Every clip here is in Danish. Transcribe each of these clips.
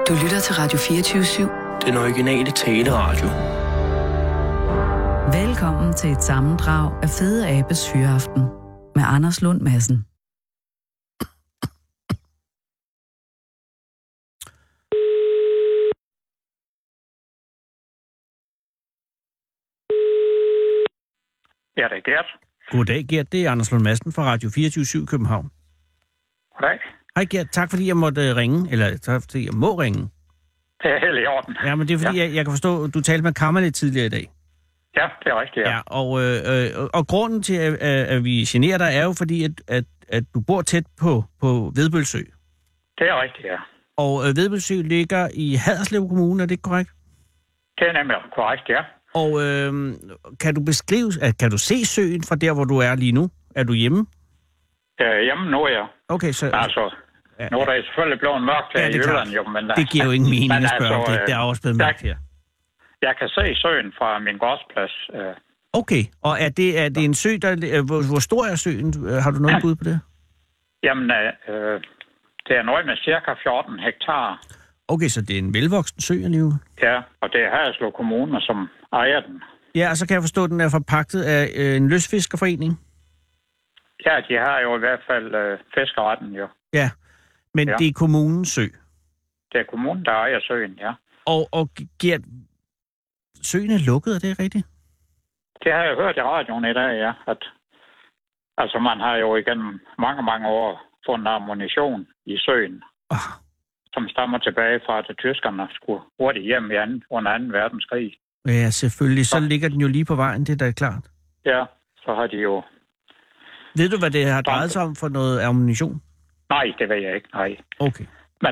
Du lytter til Radio 24/7. Den originale taleradio. Velkommen til et sammendrag af Fede Abes Fyraften med Anders Lund Madsen. Ja, det er Gert. Goddag, Gert. Det er Anders Lund Madsen fra Radio 24/7 København. Goddag. Hej, Gert. Tak fordi jeg måtte ringe, eller tak fordi jeg må ringe. Det er helt i orden. Ja, men det er fordi, jeg kan forstå, at du talte med Kammer lidt tidligere i dag. Ja, det er rigtigt, ja. Ja, og grunden til, at vi generer dig, er jo fordi, at du bor tæt på Vedbølsø. Det er rigtigt, ja. Og Vedbølsø ligger i Haderslev Kommune, er det ikke korrekt? Det er nemlig korrekt, ja. Og kan du se søen fra der, hvor du er lige nu? Er du hjemme? Hjemme nu, ja. Okay, så... Altså, nu er der selvfølgelig blevet mørkt her i Jylland, jo, men... Det giver jo ingen mening at spørge om det. Der er også blevet mørkt her. Jeg kan se søen fra min gårdsplads. Okay, og er det en sø, der... Hvor stor er søen? Har du noget bud på det? Jamen, det er noget med cirka 14 hektar. Okay, så det er en velvoksen sø alligevel? Ja, og det er Haderslev Kommune, som ejer den. Ja, og så kan jeg forstå, at den er forpagtet af en lystfiskerforening? Ja, de har jo i hvert fald fiskeretten, jo. Ja, men det er kommunens sø? Det er kommunen, der ejer søen, ja. Og Gert, søen er lukket, er det rigtigt? Det har jeg hørt i radioen i dag, ja. Altså, man har jo igennem mange år fundet ammunition i søen, som stammer tilbage fra, at tyskerne skulle hurtigt hjem under 2. verdenskrig. Ja, selvfølgelig. Så ligger den jo lige på vejen, det er da klart. Ja, så har de jo... Ved du, hvad det har drejet sig om for noget ammunition? Nej, det ved jeg ikke, nej. Okay. Men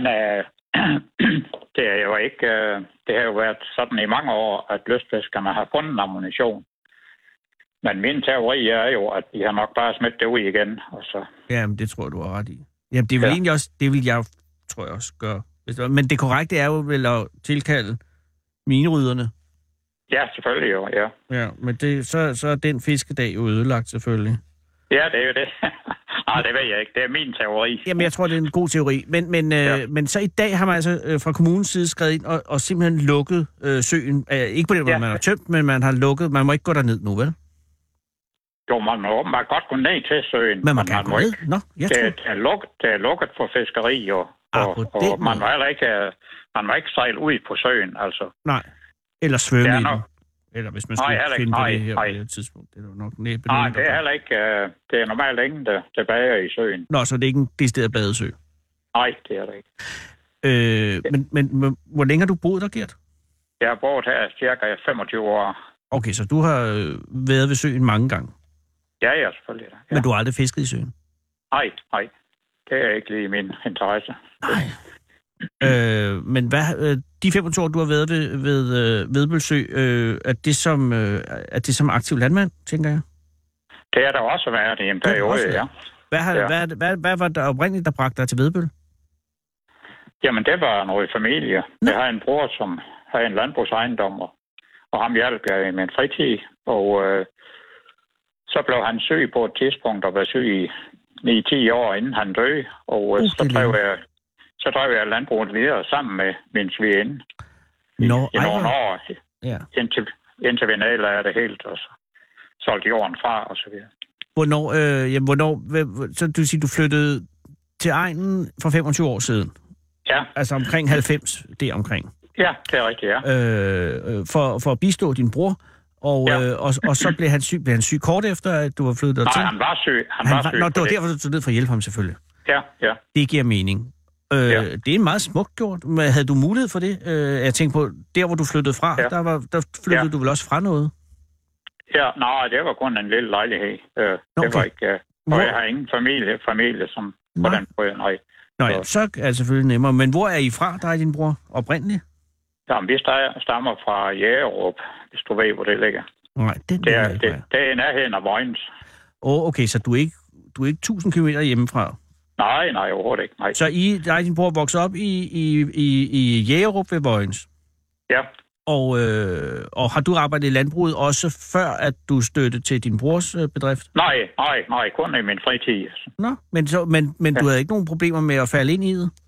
det er jo ikke... det har jo været sådan i mange år, at lystfiskerne har fundet ammunition. Men min teori er jo, at de har nok bare smidt det ud igen. Og så... Jamen, det tror jeg, du har ret i. Jamen, det vil egentlig også... Det vil jeg, tror jeg også, gøre. Men det korrekte er jo vel at tilkalde minerydderne. Ja, selvfølgelig jo, ja. Ja, men så er den fiskedag jo ødelagt, selvfølgelig. Ja, det er jo det. Nej, det ved jeg ikke. Det er min teori. Jamen, jeg tror, det er en god teori. Men så i dag har man altså fra kommunens side skrevet ind og simpelthen lukket søen. Ikke på den måde, man har tømt, men man har lukket. Man må ikke gå derned nu, vel? Jo, man må åbenbart godt gå ned til søen. Men man kan gå ned? Nå, det er lukket for fiskeri, og man må ikke sejle ud på søen, altså. Nej, eller svømme i den. Eller hvis man skulle finde på det her på det tidspunkt. Det er nok næppe. Nej, det er heller ikke. Det er normalt ingen, der tilbage i søen. Nå, så det er ikke en decideret badesø? Nej, det er det ikke. Men hvor længe har du boet der, Gert? Jeg har boet her cirka 25 år. Okay, så du har været ved søen mange gange? Ja, selvfølgelig. Ja. Men du har aldrig fisket i søen? Nej. Det er ikke lige min interesse. Nej. Men hvad, de 25 år, du har været ved Vedbølsø, er det som aktiv landmand, tænker jeg? Det er der også været i en periode, ja. Hvad var der oprindeligt, der bragte dig til Vedbøl? Jamen, det var noget familie. Jeg har en bror, som har en landbrugsejendom, og ham hjalp jeg i min fritid, og så blev han syg på et tidspunkt, og var syg i 9-10 år, inden han døde, og så drev jeg landbruget videre sammen med min svigerinde i nogle år, indtil vi nedlagde det helt, og så solgte jorden fra, og så videre. Så du siger, du flyttede til egnen for 25 år siden? Ja. Altså omkring 90, det omkring? Ja, det er rigtigt, ja. For at bistå din bror, og så blev han syg. Blev han syg kort efter, at du var flyttet dertil? Nej, han var syg. Nå, det var derfor, du tog ned for at hjælpe ham, selvfølgelig. Ja. Det giver mening. Det er meget smukt gjort. Men havde du mulighed for det? Jeg tænkte på, der hvor du flyttede fra, der flyttede du vel også fra noget? Ja, nej, det var kun en lille lejlighed. Det var ikke... og jeg har ingen familie som på den måde, nej. Nå ja, så er det selvfølgelig nemmere. Men hvor er I fra, dig og din bror, oprindeligt? Jamen, vi stammer fra Jægerup, hvis du ved, hvor det ligger. Nej, det er i nærheden af Vojens. Okay, så du er ikke 1000 kilometer hjemmefra? Nej, overhovedet ikke. Nej. Så dig og din bror voksede op i Jægerup ved Vojens? Ja. Og har du arbejdet i landbruget også før, at du støttede til din brors bedrift? Nej, kun i min fritid. Nå, men du havde ikke nogen problemer med at falde ind i det?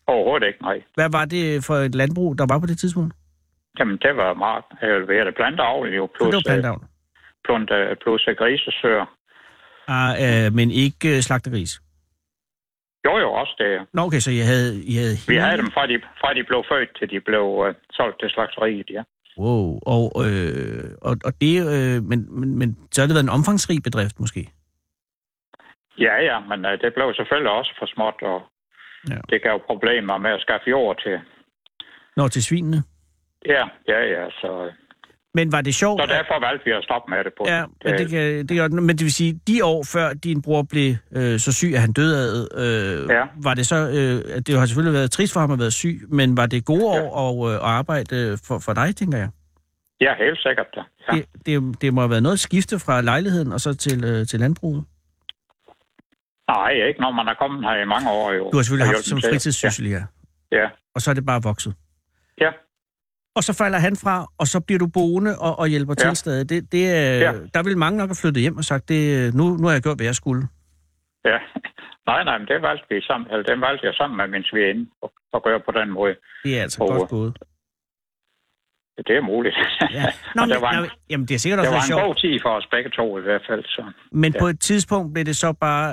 Overhovedet ikke, nej. Hvad var det for et landbrug, der var på det tidspunkt? Jamen, det var meget, planteavl jo, plus, det var planteavl. plus grisesøer. Men ikke slagtegris? Jo, også det. Nå, okay, så I havde Vi havde dem fra de blev født, til de blev solgt til slagteriet, ja. Wow, og det, men så har det været en omfangsrig bedrift, måske? Ja, men det blev selvfølgelig også for småt, og det gav problemer med at skaffe jord til... Til svinene? Ja, så... Men var det sjovt? Så derfor valgte vi at stoppe med det på. Ja, men det vil sige, de år før din bror blev så syg, at han døde var det så... det har selvfølgelig været trist for ham at være syg, men var det gode år at arbejde for dig, tænker jeg? Ja, helt sikkert, da. Ja. Det må have været noget skifte fra lejligheden og så til landbruget? Nej, ikke når man er kommet her i mange år. Jo. Du har selvfølgelig haft som fritidssyssel, ja. Og så er det bare vokset? Ja. Og så falder han fra, og så bliver du boende og hjælper til stadig. Der vil mange nok have flyttet hjem og sagt, nu har jeg gjort, hvad jeg skulle. Ja, nej, men det valgte vi sammen. Eller den valgte jeg sammen med min svigerinde at gøre på den måde. Det er altså godt gået. Det er muligt. Ja. Jamen, det er sikkert også sjovt. Det var en god tid for os begge to i hvert fald. Så. Men på et tidspunkt blev det så bare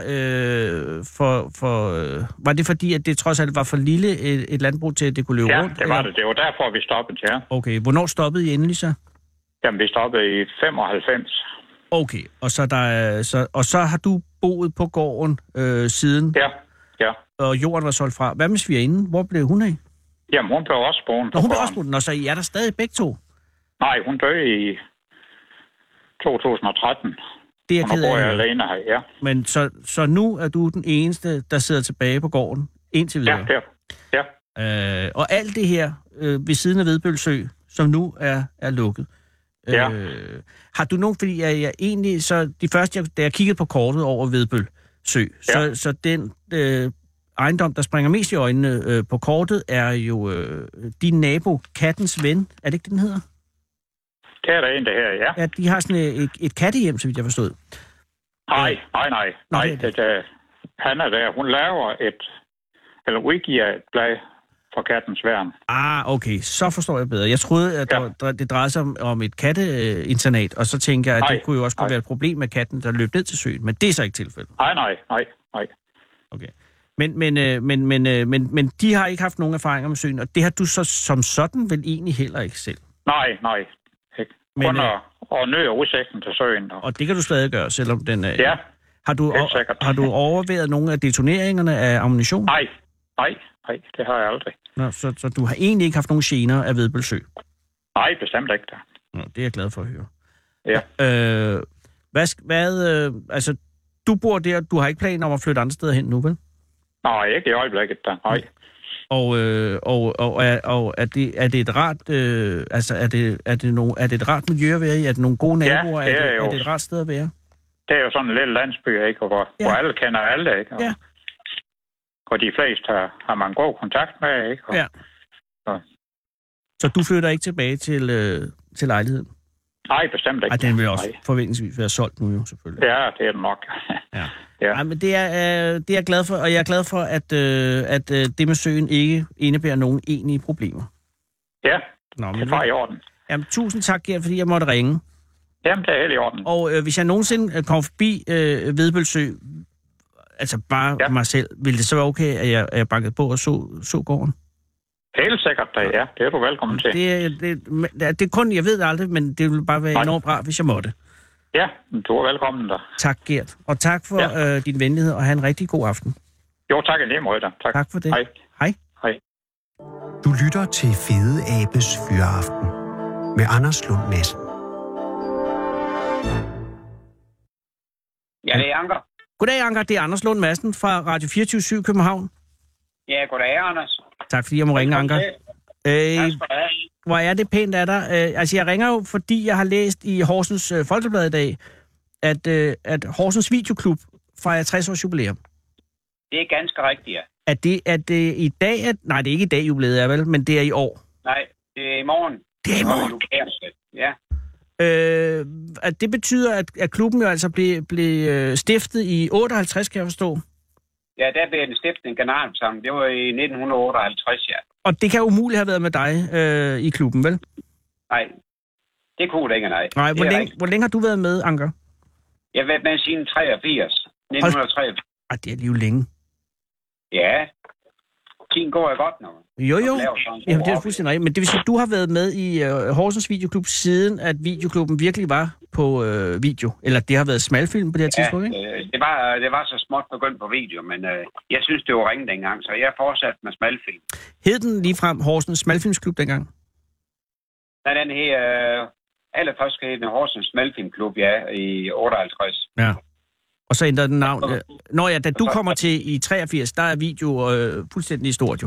var det fordi, at det trods alt var for lille et landbrug til, at det kunne løbe rundt? Ja, det var det. Det var derfor, vi stoppede, ja. Okay, hvornår stoppede I endelig så? Jamen, vi stoppede i 95. Okay, og så har du boet på gården siden? Ja. Og jorden var solgt fra. Hvad med svigerinden? Hvor blev hun af? Jamen, hun blev også boende. Hun blev også boende. Og så I er der stadig begge to? Nej, hun døde i 2013. Det er ked af. Og nu bor jeg alene her, ja. Men så nu er du den eneste, der sidder tilbage på gården indtil videre? Ja. Og alt det her ved siden af Vedbøl Sø, som nu er lukket. Ja. Har du nogen, fordi jeg egentlig, så de første, da jeg kiggede på kortet over Vedbøl Sø, så den ejendom, der springer mest i øjnene på kortet, er jo din nabo, Kattens Ven. Er det ikke det, den hedder? Det er der en, det her, ja. Ja, de har sådan et kattehjem, så vidt jeg forstod. Nej. Han er der. Hun laver udgiver et blad for Kattens Værn. Okay. Så forstår jeg bedre. Jeg troede, at det drejede sig om et katteinternat, og så tænker jeg, at det kunne jo også være et problem med katten, der løb ned til søen. Men det er så ikke tilfældet. Nej. Okay. Men de har ikke haft nogen erfaringer med søen, og det har du så som sådan vel egentlig heller ikke selv? Nej. Ikke. Kun at nøje udsigten til søen. Og det kan du stadig gøre, selvom den er... Ja, har du overvejet nogle af detoneringerne af ammunition? Nej, det har jeg aldrig. Nå, så du har egentlig ikke haft nogen gener af Vedbøl Sø? Nej, bestemt ikke da. Nå, det er jeg glad for at høre. Ja. Altså, du bor der, du har ikke planer om at flytte andre steder hen nu, vel? Nej, ikke i øjeblikket da, nej. Og er det et rart, er det et rart miljø at være i? Er det nogle gode naboer? Ja, er det et rart sted at være? Det er jo sådan en lille landsby, ikke? Hvor alle kender alle, ikke? Og de fleste har man god kontakt med, ikke? Så du flytter ikke tilbage til lejligheden? Nej, bestemt ikke. Den vil også forventningsvis være solgt nu jo, selvfølgelig. Ja, det er det nok. Ja. Ej, men det er jeg glad for, og jeg er glad for, at det med søen ikke indebærer nogen egentlige problemer. Ja, det var i orden. Jamen, tusind tak, Gert, fordi jeg måtte ringe. Jamen, det er helt i orden. Og hvis jeg nogensinde kommer forbi Vedbøl Sø, altså bare mig selv, ville det så være okay, at jeg bankede på og så gården? Helt sikkert, ja. Det er du velkommen til. Det er kun, jeg ved det aldrig, men det ville bare være enormt bra, hvis jeg måtte. Ja, du er velkommen der. Tak, Gert. Og tak for din venlighed, og have en rigtig god aften. Jo, tak i lige måde. Tak for det. Hej. Du lytter til Fede Abes Fyraften med Anders Lund Madsen. Ja, det er Anker. Goddag, Anker. Det er Anders Lund Madsen fra Radio 24/7 København. Ja, goddag, Anders. Tak fordi jeg må ringe, Anker. Hvor er det pænt af dig. Altså, jeg ringer jo, fordi jeg har læst i Horsens Folkeblad i dag, at Horsens Videoklub fejrer 60 års jubilæum. Det er ganske rigtigt, ja. Er det i dag? Nej, det er ikke i dag jubilæet, er vel, men det er i år. Nej, det er i morgen. Det er i morgen? Ja. At det betyder, at klubben jo altså blev stiftet i 58, kan jeg forstå. Ja, der blev den stiftet en generalforsamling. Det var i 1958, ja. Og det kan umuligt have været med dig i klubben, vel? Nej, det kunne det ikke, nej. Nej, hvor længe har du været med, Anker? Jeg har været med siden 1983. Ej, det er lige længe. Ja, tiden går jo godt nu. Jo. Jamen, det er fuldstændig rigtigt. Men det vil sige, at du har været med i Horsens Videoklub, siden at videoklubben virkelig var på video. Eller det har været smalfilm på det her tidspunkt, ikke? Det var så småt begyndt på video, men jeg synes, det var ringe dengang, så jeg fortsatte med smalfilm. Hed den ligefrem Horsens Smalfilmsklub dengang? Nej, den her allerførst hed den Horsens Smalfilmklub, ja, i 58. Ja. Og så ændrede den navn. Da du kommer til i 83, der er video fuldstændig stort jo.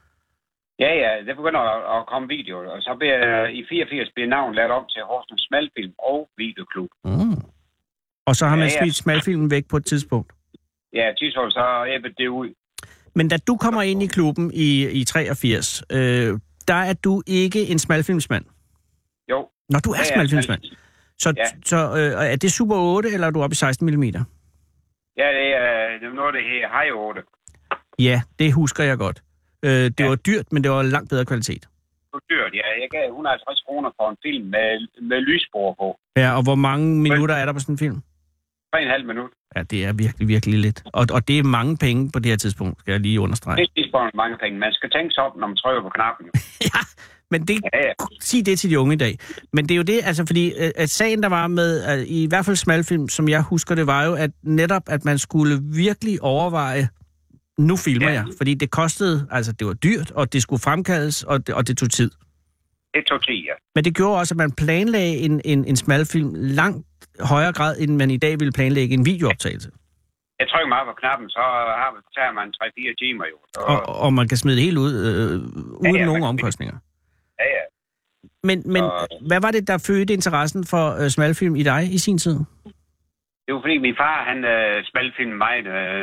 Ja, det begynder at komme video, og så bliver i 84 bliver navnet lavet om til Horsens Smalfilm og Videoklub. Mm. Og så har man smidt smalfilmen væk på et tidspunkt. Ja, tidspunkt så æbbede det ud. Men da du kommer ind i klubben i 83, der er du ikke en smalfilmsmand? Jo. Når du er smalfilmsmand? Så er det Super 8, eller er du oppe i 16 mm? Ja, det er noget, det her High 8. Ja, det husker jeg godt. Det var dyrt, men det var langt bedre kvalitet. Det var dyrt, ja. Jeg gav 150 kroner for en film med lysspor på. Ja, og hvor mange minutter er der på sådan en film? 3,5 minutter. Ja, det er virkelig, virkelig lidt. Og det er mange penge på det her tidspunkt, skal jeg lige understrege. Det er mange penge. Man skal tænke sig op, når man trykker på knappen. Ja, men sig det til de unge i dag. Men det er jo det, altså fordi at sagen, der var med, i hvert fald smalfilm, som jeg husker, det var jo, at netop, at man skulle virkelig overveje, nu filmer jeg. Fordi det kostede, altså det var dyrt, og det skulle fremkaldes, og det tog tid. Det tog tid, ja. Men det gjorde også, at man planlagde en smalfilm langt højere grad, end man i dag ville planlægge en videooptagelse. Jeg trykker mig på knappen, så tager man 3-4 timer jo. Så... Og man kan smide det helt ud, uden nogen omkostninger. Ja. Men hvad var det, der fødte interessen for smalfilm i dig i sin tid? Det var fordi min far, han smalfilmede mig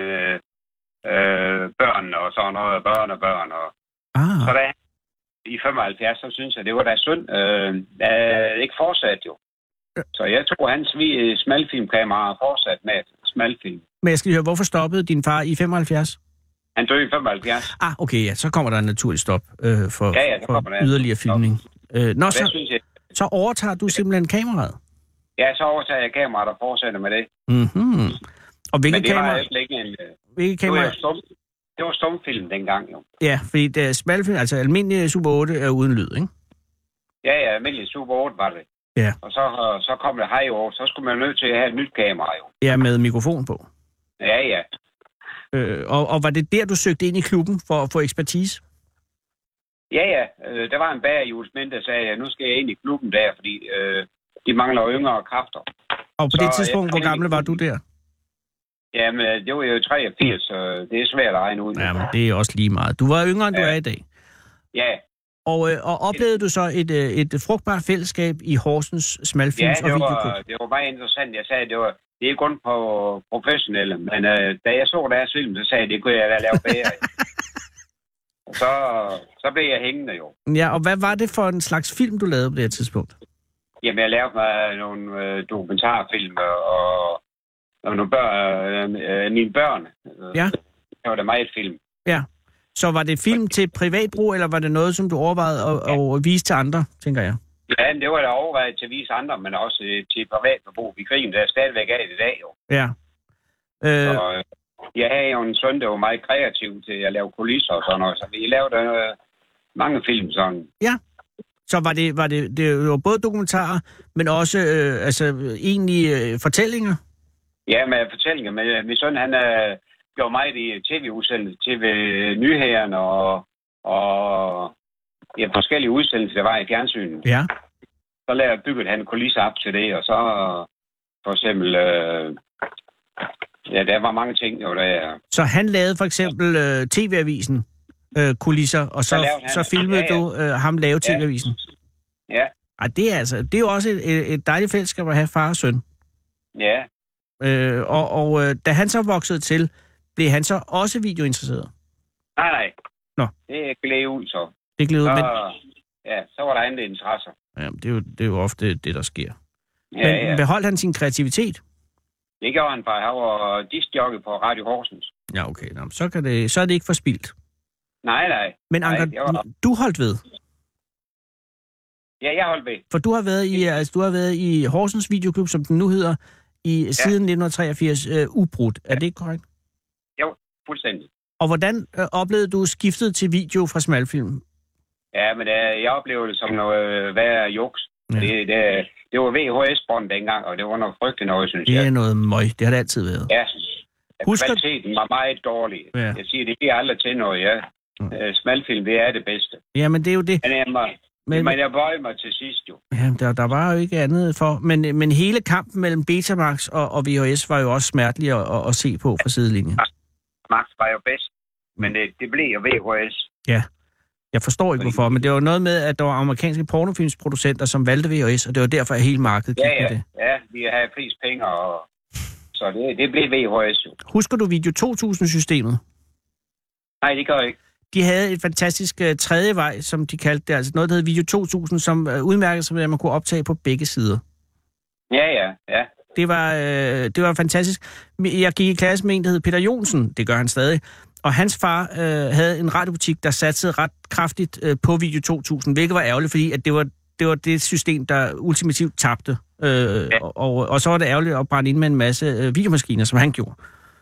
børn og sådan noget, børn. Og... Så da i 75, så synes jeg, det var da synd. Ikke fortsat jo. Så jeg tror, hans smalfilmkamera fortsat med smalfilm. Men jeg skal høre, hvorfor stoppede din far i 75? Han døde i 75. Okay, ja, så kommer der en naturlig stop for yderligere filmning. Så overtager du simpelthen kameraet? Ja, så overtager jeg kameraet og fortsætter med det. Mm-hmm. Og hvilke kamera? Det var stumfilm dengang, jo. Ja, fordi det er smalfilm, altså almindelig Super 8 er uden lyd, ikke? Ja, almindelig Super 8 var det. Ja. Og så kom det High 8, så skulle man nødt til at have et nyt kamera, jo. Ja, med mikrofon på. Ja. Og var det der, du søgte ind i klubben for at få ekspertise? Ja. Der var en bager i Ulsminde, der sagde, at nu skal jeg ind i klubben der, fordi de mangler yngre kræfter. Og på det tidspunkt, hvor gammel var du der? Jamen, det var jo 83, så det er svært at regne ud. Jamen, det er også lige meget. Du var yngre, end du er i dag. Ja. Og oplevede du så et frugtbart fællesskab i Horsens smalfilms og videoklub? Ja, det var meget interessant. Jeg sagde, det er kun på professionelle, men da jeg så deres film, så sagde jeg, det kunne jeg da lave bedre. Og så blev jeg hængende jo. Ja, og hvad var det for en slags film, du lavede på det her tidspunkt? Jamen, jeg lavede mig nogle dokumentarfilm og nogle mine børn. Ja. Det var da meget film. Ja. Så var det film til privatbrug, eller var det noget, som du overvejede at vise til andre, tænker jeg? Ja, det var da overvejet til at vise andre, men også til privatbrug. Vi griner der stadigvæk af det i dag, jo. Ja. Så, jeg havde jo en søn, der var meget kreativ til at lave kulisser og sådan noget, så vi lavede mange film sådan. Ja. Så det var både dokumentarer, men også egentlige fortællinger? Ja, med fortællinger. Men min søn, han gjorde meget i tv-udsendelser, tv-nyhederne og forskellige udsendelser, der var i fjernsynet. Ja. Så byggede han kulisser op til det, og så for eksempel... der var mange ting jo der. Så han lavede for eksempel TV-avisen kulisser, og så filmede du ham lave TV-avisen? Ja. Ej, det er jo også et dejligt fællesskab at have far og søn. Ja. Og da han så voksede til, blev han så også videointeresseret? Nej. Nå. Det gled ud så. Det gled ud, men... Ja, så var der andre interesser. Ja, det er jo ofte det, der sker. Ja, men beholdt han sin kreativitet? Det gjorde han bare. Han var diskjockey på Radio Horsens. Ja, okay. Nå, så er det ikke forspildt. Nej. Men Anker, du holdt ved? Ja, jeg holdt ved. For du har været i Horsens Videoklub, som den nu hedder, siden 1983 ubrudt. Er det ikke korrekt? Jo, fuldstændig. Og hvordan oplevede du skiftet til video fra smalfilm? Ja, men jeg oplevede det som noget værre juks. Ja. Det var VHS-bånd dengang, og det var noget frygteligt noget, synes jeg. Det er noget møg. Det har det altid været. Ja. Kvaliteten var meget dårlig. Ja. Jeg siger, det bliver aldrig til noget, ja. Smalfilm, det er det bedste. Ja, men det er jo det. Men jeg bøjede mig til sidst, jo. Ja, der var jo ikke andet for. Men hele kampen mellem Betamax og VHS var jo også smertelig at se på fra sidelinjen. Max var jo bedst, men det blev jo VHS. Ja. Jeg forstår ikke, hvorfor, men det var noget med, at der var amerikanske pornofilmsproducenter, som valgte VHS, og det var derfor, at hele markedet gik med det. Ja, vi havde flest penge, og så det blev VHS jo. Husker du Video 2000-systemet? Nej, det gør jeg ikke. De havde et fantastisk tredje vej, som de kaldte det, altså noget, der hed Video 2000, som udmærkede sig ved, at man kunne optage på begge sider. Ja. Det var fantastisk. Jeg gik i klasse med en, der hed Peter Jonsen, det gør han stadig, og hans far havde en radiobutik, der satsede ret kraftigt på Video 2000, hvilket var ærgerligt, fordi at det var det system, der ultimativt tabte. Og så var det ærgerligt at brænde ind med en masse videomaskiner, som han gjorde.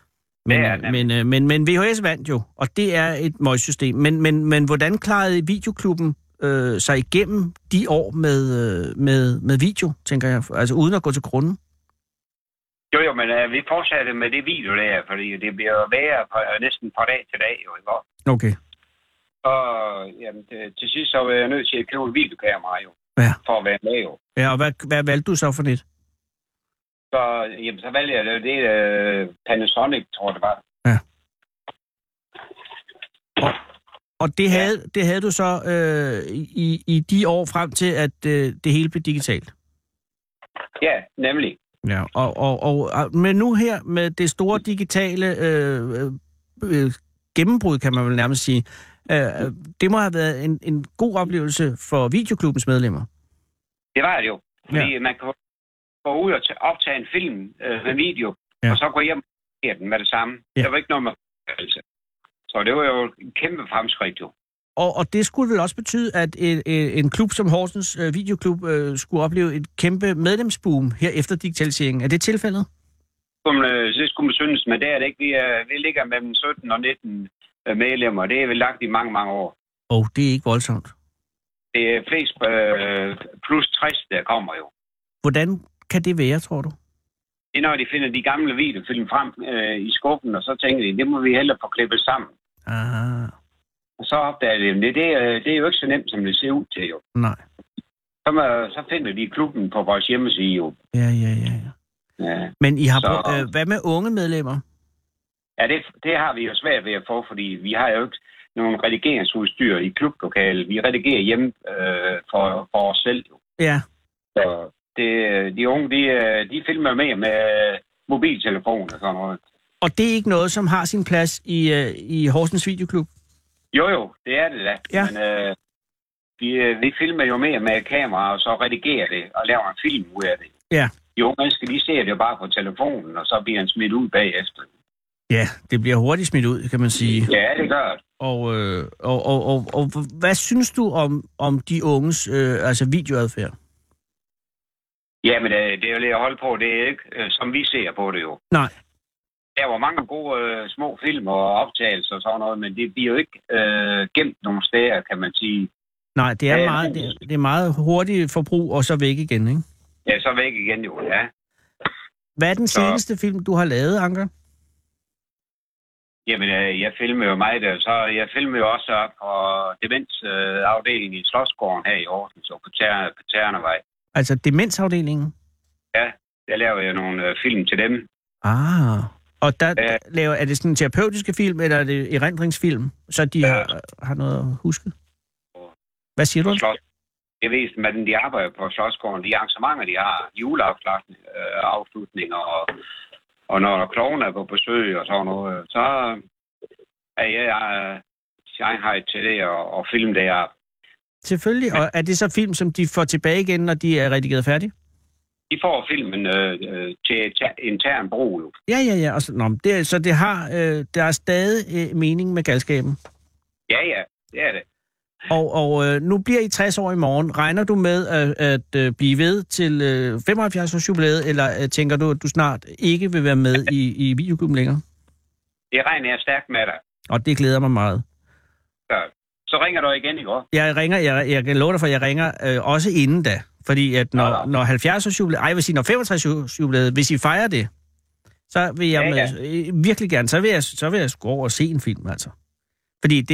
Men VHS vandt jo, og det er et møgsystem. Men hvordan klarede Videoklubben sig igennem de år med video, tænker jeg, altså uden at gå til grunden? Jo, men vi fortsatte med det video der, fordi det bliver værre næsten fra dag til dag, jo, ikke? Okay. Og jamen, til sidst så var jeg nødt til at købe et videokamera, jo, for at være med, jo. Ja, og hvad valgte du så for net? Så valgte jeg det Panasonic, tror jeg, det var. Ja. Og det havde du så i de år frem til, at det hele blev digitalt? Ja, nemlig. Ja, men nu her med det store digitale gennembrud, kan man vel nærmest sige, det må have været en god oplevelse for Videoklubbens medlemmer. Det var det jo, fordi man kan gå ud og optage en film med video, og så gå hjem og se den med det samme. Der var ikke noget med så det var jo en kæmpe fremskridt jo. Og det skulle vel også betyde, at en klub som Horsens Videoklub skulle opleve et kæmpe medlemsboom her efter digitaliseringen. Er det tilfældet? Det skulle man synes, men det er det ikke. Vi ligger mellem 17 og 19 medlemmer. Det er vel lagt i mange, mange år. Det er ikke voldsomt. Det er flest plus 60, der kommer jo. Hvordan kan det være, tror du? Det er, når de finder de gamle videofilm frem i skuffen, og så tænker de, det må vi hellere få klippet sammen. Aha. Og så opdager de, det er jo ikke så nemt, som det ser ud til, jo. Nej. Så finder de klubben på vores hjemmeside, jo. Ja. Men I har hvad med unge medlemmer? Ja, det har vi jo svært ved at få, fordi vi har jo ikke nogen redigeringsudstyr i klublokalet. Vi redigerer hjemme for os selv, jo. Ja. Så de unge, de filmer med mobiltelefon og sådan noget. Og det er ikke noget, som har sin plads i Horsens Videoklub? Jo, det er det da. Ja. Men vi filmer jo mere med kamera, og så redigerer det, og laver en film ud af det. Ja. Jo, mennesker, de ser det jo bare på telefonen, og så bliver han smidt ud bagefter. Ja, det bliver hurtigt smidt ud, kan man sige. Ja, det gør det. Og hvad synes du om de unges videoadfærd? Jamen, det er jo lidt at holde på. Det er ikke, som vi ser på det jo. Nej. Der var mange gode små film og optagelser og sådan noget, men det bliver jo ikke gemt nogle steder, kan man sige. Nej, det er meget hurtigt forbrug, og så væk igen, ikke? Ja, så væk igen jo, ja. Hvad er den seneste film, du har lavet, Anker? Jamen, jeg filmer jo meget der. Så jeg filmer jo også op på demensafdelingen i Slotsgården her i Aarhus, og på Ternevej. Altså demensafdelingen? Ja, der laver jeg nogle film til dem. Og der er det sådan en terapeutiske film, eller er det erindringsfilm, så de har noget at huske? Hvad siger du? Jeg ved, at de arbejder på Slotsgården. De arrangementer, de har, juleafslutninger, og når klovene er på besøg og sådan noget, så er jeg til det og film der. Selvfølgelig. Og er det så film, som de får tilbage igen, når de er redigeret færdige? de får filmen til intern brug. Ja. Så det har, der er stadig mening med galskaben? Ja, det er det. Og nu bliver I 60 år i morgen. Regner du med at blive ved til 75 års jubilæet, eller tænker du, at du snart ikke vil være med i videoklubben længere? Det regner jeg stærkt med dig. Og det glæder mig meget. Så ringer du igen i går? Jeg kan love dig for, at jeg ringer også inden da. Fordi at når 70 års jubilæet, jeg vil sige, når 65 års jubilæet, hvis I fejrer det, så vil jeg virkelig gerne, så vil jeg gå over og se en film, altså. Fordi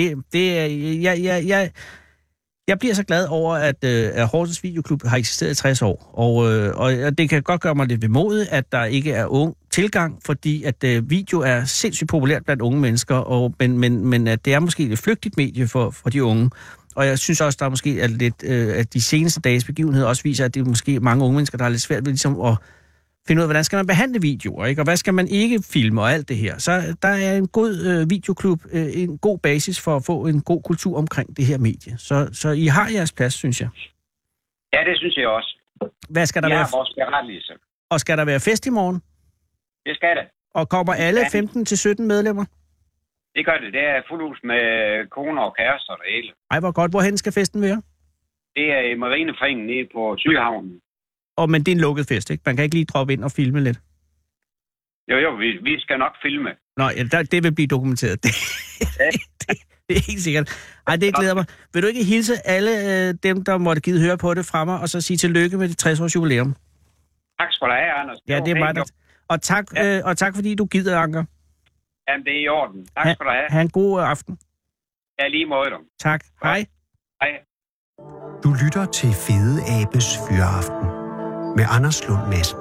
jeg bliver så glad over, at Horsens Videoklub har eksisteret i 60 år. Og det kan godt gøre mig lidt vemodigt, at der ikke er ung tilgang, fordi at video er sindssygt populært blandt unge mennesker, men at det er måske et flygtigt medie for de unge. Og jeg synes også, der er måske lidt, at de seneste dages begivenheder også viser, at det er måske mange unge mennesker, der har lidt svært ved ligesom at finde ud af, hvordan skal man behandle videoer, ikke? Og hvad skal man ikke filme og alt det her. Så der er en god videoklub, en god basis for at få en god kultur omkring det her medie. Så I har jeres plads, synes jeg. Ja, det synes jeg også. Hvad skal der være? Vores berettigelse. Og skal der være fest i morgen? Det skal det. Og kommer alle 15-17 medlemmer? Det gør det. Det er fuld hus med koner og kærester og det hele. Ej, hvor godt. Hvorhen skal festen være? Det er i Marineforeningen nede på Sydhavnen. Men det er en lukket fest, ikke? Man kan ikke lige droppe ind og filme lidt. Jo, vi skal nok filme. Nå, ja, det vil blive dokumenteret. Det er helt sikkert. Ej, det glæder mig. Vil du ikke hilse alle dem, der måtte give høre på det fra mig, og så sige tillykke med det 60-års jubilæum? Tak skal du have, Anders. Ja, det er meget. Og tak fordi du gider, Anker. Jamen, det er i orden. Tak skal du have. Ha' en god aften. Ja, lige måde dem. Tak. Hej. Hej. Du lytter til Fede Abes Fyraften med Anders Lund Madsen.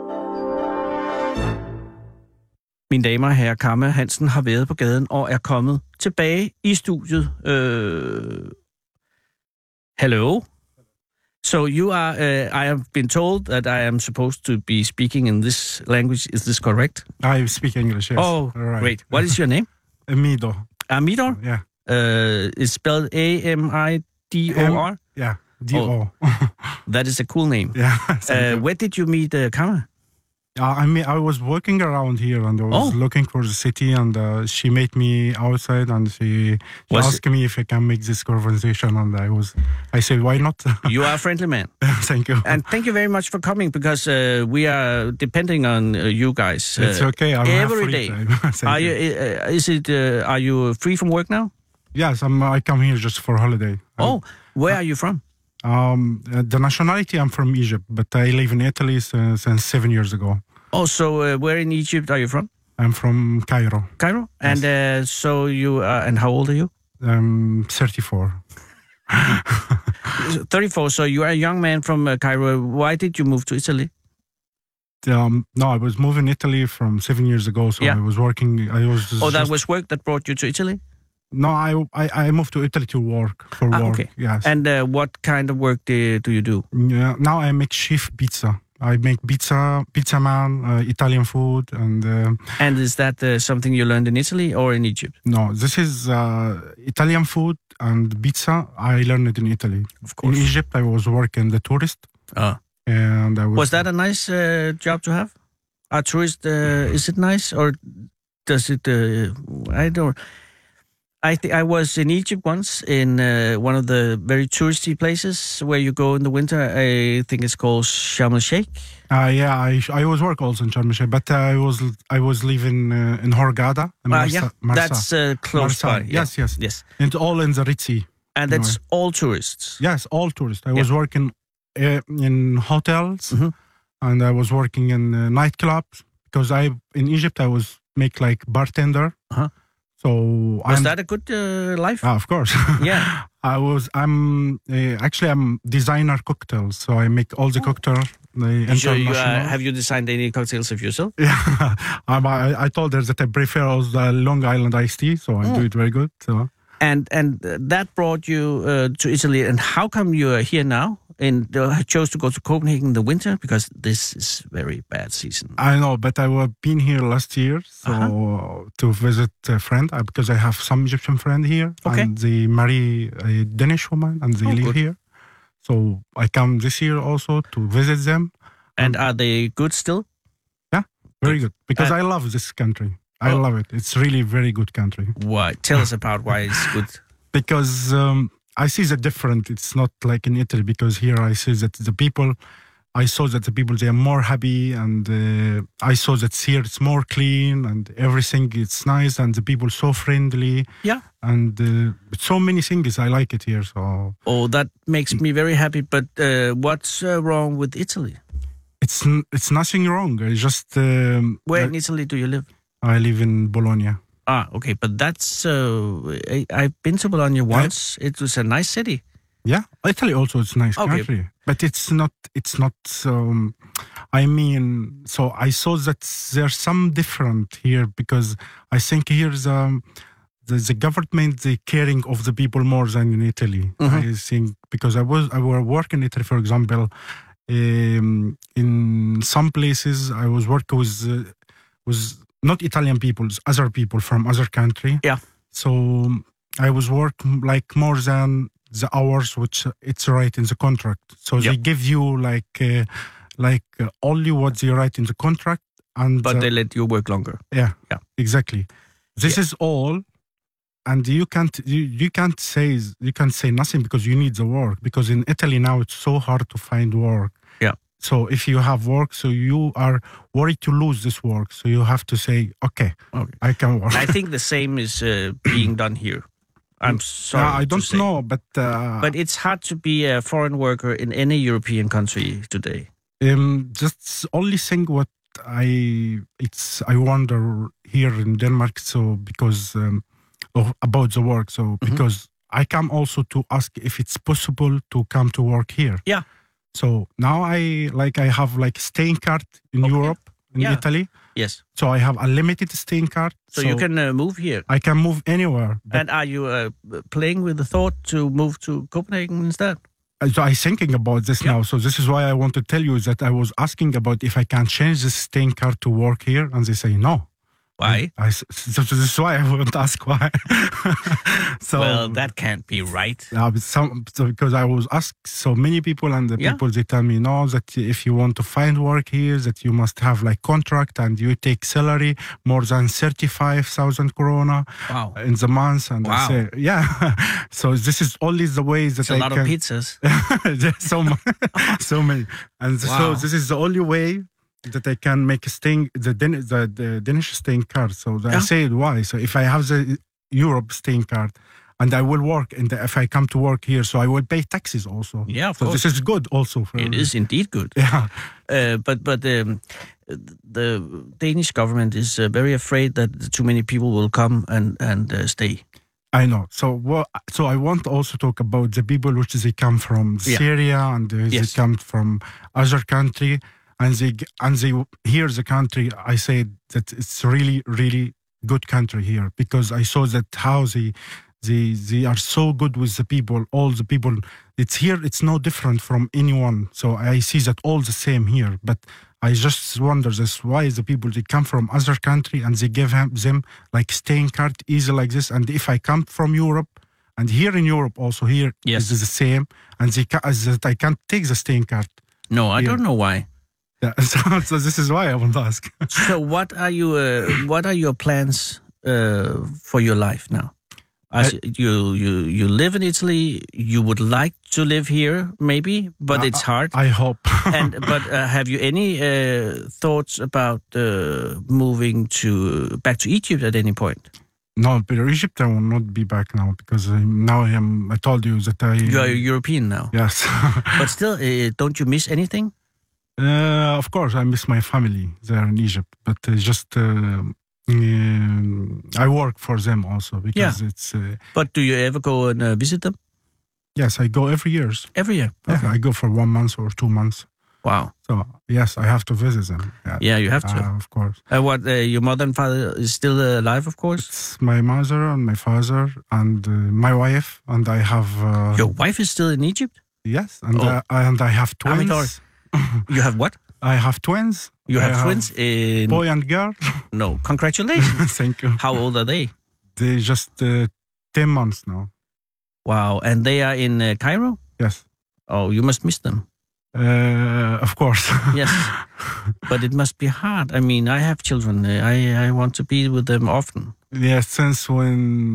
Mine damer og herrer, Kamma Hansen har været på gaden og er kommet tilbage i studiet. Hello. So you are, I have been told that I am supposed to be speaking in this language. Is this correct? I speak English, yes. Oh, right. Great. What is your name? Amidor. Amidor? Yeah. It's spelled A-M-I-D-O-R? Yeah, D-O. That is a cool name. Yeah. Where did you meet Kamma? I was walking around here and I was looking for the city, and she met me outside and she asked me if I can make this conversation, and I said, why not? You are a friendly man. Thank you. And thank you very much for coming, because we are depending on you guys. It's okay. I'm every free day. Time. Are you free from work now? Yes, I come here just for holiday. Where are you from? The nationality, I'm from Egypt, but I live in Italy since 7 years ago. Oh, so where in Egypt are you from? I'm from Cairo. Cairo? Yes. And so you are, and how old are you? 34. 34, so you are a young man from Cairo. Why did you move to Italy? No, I was moving to Italy from 7 years ago, so I was working. That was work that brought you to Italy? No, I moved to Italy to work, for work. Okay. Yes. And what kind of work do you do? Yeah, now I make chef pizza. I make pizza man, Italian food, and... And is that something you learned in Italy or in Egypt? No, this is Italian food and pizza. I learned it in Italy. Of course. In Egypt, I was working the tourist. And was that a nice job to have? A tourist, is it nice, or does it... I don't... I think I was in Egypt once, in one of the very touristy places where you go in the winter. I think it's called Sharm el-Sheikh. I was work also in Sharm el-Sheikh, but I was living in Hurghada. Marsa. That's close by. Yes. And all in the Red Sea. And that's all tourists. Yes, all tourists. I was working in hotels, and I was working in nightclubs, because in Egypt I was make like bartender. So was that a good life? Of course. Yeah. I'm designer cocktails, so I make all the cocktails. Have you designed any cocktails of yourself? Yeah. I told her that I prefer all the Long Island iced tea, so I do it very good. So. And that brought you to Italy. And how come you are here now? And chose to go to Copenhagen in the winter, because this is very bad season. I know, but I have been here last year to visit a friend, because I have some Egyptian friend here, and they marry a Danish woman, and they live here. So I come this year also to visit them, And are they good still? Yeah, very good. Because I love this country. I love it. It's really very good country. Why? Tell us about why it's good. Because I see the different. It's not like in Italy. Because here I see that the people. I saw that the people, they are more happy, and I saw that here it's more clean and everything. It's nice, and the people so friendly. Yeah. And so many things. I like it here. So. Oh, that makes me very happy. But what's wrong with Italy? It's nothing wrong. It's just. Where in Italy do you live? I live in Bologna. Ah, okay. But that's. I've been to Bologna once. Yeah. It was a nice city. Yeah, Italy also is a nice country, but it's not. I mean, so I saw that there's some different here because I think here's the government, the caring of the people more than in Italy. Mm-hmm. I think because I was working in Italy, for example, in some places I was working with not Italian people, other people from other country. Yeah. So I was working like more than the hours which it's right in the contract. So they give you like only what they write in the contract, but they let you work longer. Yeah, exactly. This is all, and you can't say nothing because you need the work. Because in Italy now it's so hard to find work. Yeah. So if you have work, so you are worried to lose this work. So you have to say, okay. I can work. I think the same is being done here. I'm sorry. I don't know, but it's hard to be a foreign worker in any European country today. Just only thing what I wonder here in Denmark. So because about the work. So because I come also to ask if it's possible to come to work here. Yeah. So now I have like staying card in Europe. In Italy. Yes. So I have a limited staying card. So you can move here. I can move anywhere. And are you playing with the thought to move to Copenhagen instead? So I'm thinking about this now. So this is why I want to tell you that I was asking about if I can change the staying card to work here, and they say no. Why? So this is why I won't ask why. Well, that can't be right. Because I was asked so many people, and the people, they tell me, no, that if you want to find work here, that you must have like contract and you take salary more than 35,000 krona in the month. And I say, so this is only the way that I can... a lot of pizzas. so many. And so this is the only way that I can make the Danish staying card. So I said, why? So if I have the Europe staying card and I will work, and if I come to work here, so I will pay taxes also. Yeah, of course. This is good also. It is indeed good. Yeah. But the Danish government is very afraid that too many people will come and stay. I know. So I want to also talk about the people which they come from Syria and they come from other country. And they hear the country. I say that it's really, really good country here because I saw that how they are so good with the people. All the people, it's here. It's no different from anyone. So I see that all the same here. But I just wonder this: why the people they come from other country and they give them like staying card easy like this. And if I come from Europe. And here in Europe also here is the same. And I can't take the staying card. No, I don't know why. Yeah, so this is why I want to ask. So what are your plans for your life now? You live in Italy. You would like to live here, maybe, but it's hard. I hope. But have you any thoughts about moving back to Egypt at any point? No, but Egypt I will not be back now because now I told you that you are European now. Yes. But still, don't you miss anything? Of course, I miss my family there in Egypt, but just I work for them also because it's. But do you ever go and visit them? Yes, I go every year. Every year? Okay. Yeah, I go for 1 month or 2 months. Wow. So, yes, I have to visit them. Yeah, you have to. Of course. Your mother and father is still alive, of course? It's my mother and my father and my wife, and I have... Your wife is still in Egypt? Yes, and I have twins. You have what? I have twins. You have twins in... Boy and girl. No, congratulations. Thank you. How old are they? They're just 10 months now. Wow, and they are in Cairo? Yes. Oh, you must miss them. Of course. Yes. But it must be hard. I mean, I have children. I want to be with them often. Yeah, since when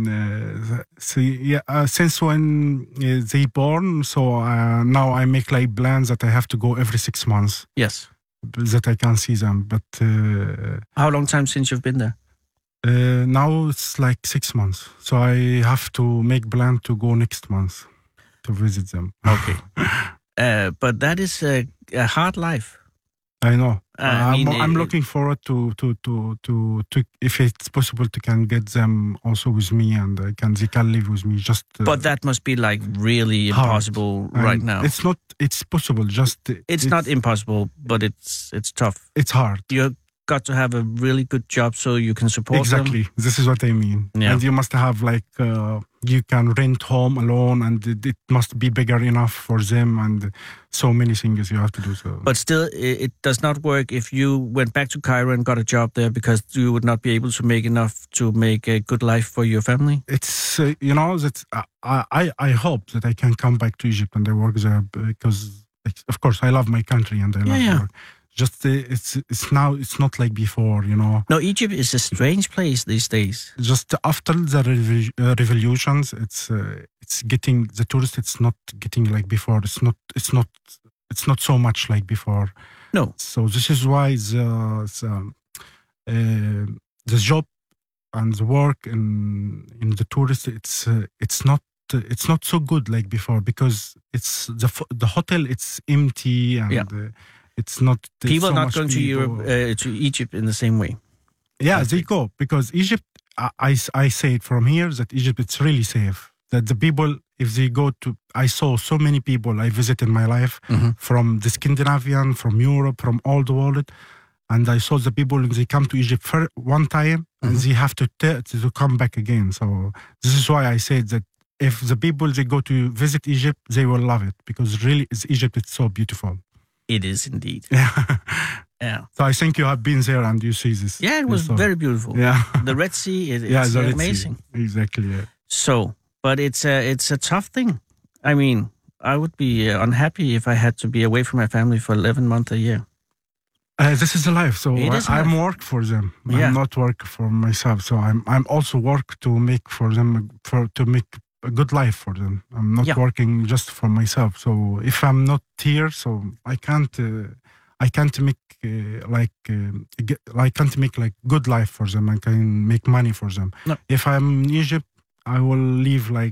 they born, so now I make like plans that I have to go every 6 months. Yes. That I can see them. But how long time since you've been there? Now it's like 6 months. So I have to make plan to go next month to visit them. Okay. But that is a hard life. I know. I'm looking forward to if it's possible to can get them also with me and they can live with me. But that must be like really impossible right now. It's not. It's possible. It's not impossible, but it's tough. It's hard. You got to have a really good job so you can support exactly. them. This is what I mean. Yeah. And you must have like you can rent home alone, and it must be bigger enough for them, and so many things you have to do. So. But still, it does not work if you went back to Cairo and got a job there because you would not be able to make enough to make a good life for your family. It's that I hope that I can come back to Egypt and I work there because of course I love my country and I love work. Just it's now it's not like before, No, Egypt is a strange place these days. Just after the revolutions, it's getting the tourists. It's not getting like before. It's not so much like before. No. So this is why the job and the work in the tourists it's not so good like before because it's the hotel it's empty and. It's not people so not going to Europe to Egypt in the same way. Yeah, they go because Egypt. I say it from here that Egypt it's really safe. That the people, if they go to, I saw so many people I visited in my life from the Scandinavian, from Europe, from all the world, and I saw the people they come to Egypt for one time and they have to come back again. So this is why I said that if the people they go to visit Egypt, they will love it because really, Egypt it's so beautiful. It is indeed. Yeah. So I think you have been there and you see this. Yeah, it was very beautiful. Yeah. The Red Sea, it's amazing. Exactly. Yeah. So, but it's a tough thing. I mean, I would be unhappy if I had to be away from my family for 11 months a year. This is the life. So I'm work for them. I'm not work for myself. So I'm also work to make for them to make a good life for them. I'm not working just for myself. So if I'm not here, so I can't make I can't make like good life for them. I can make money for them. No. If I'm in Egypt, I will live like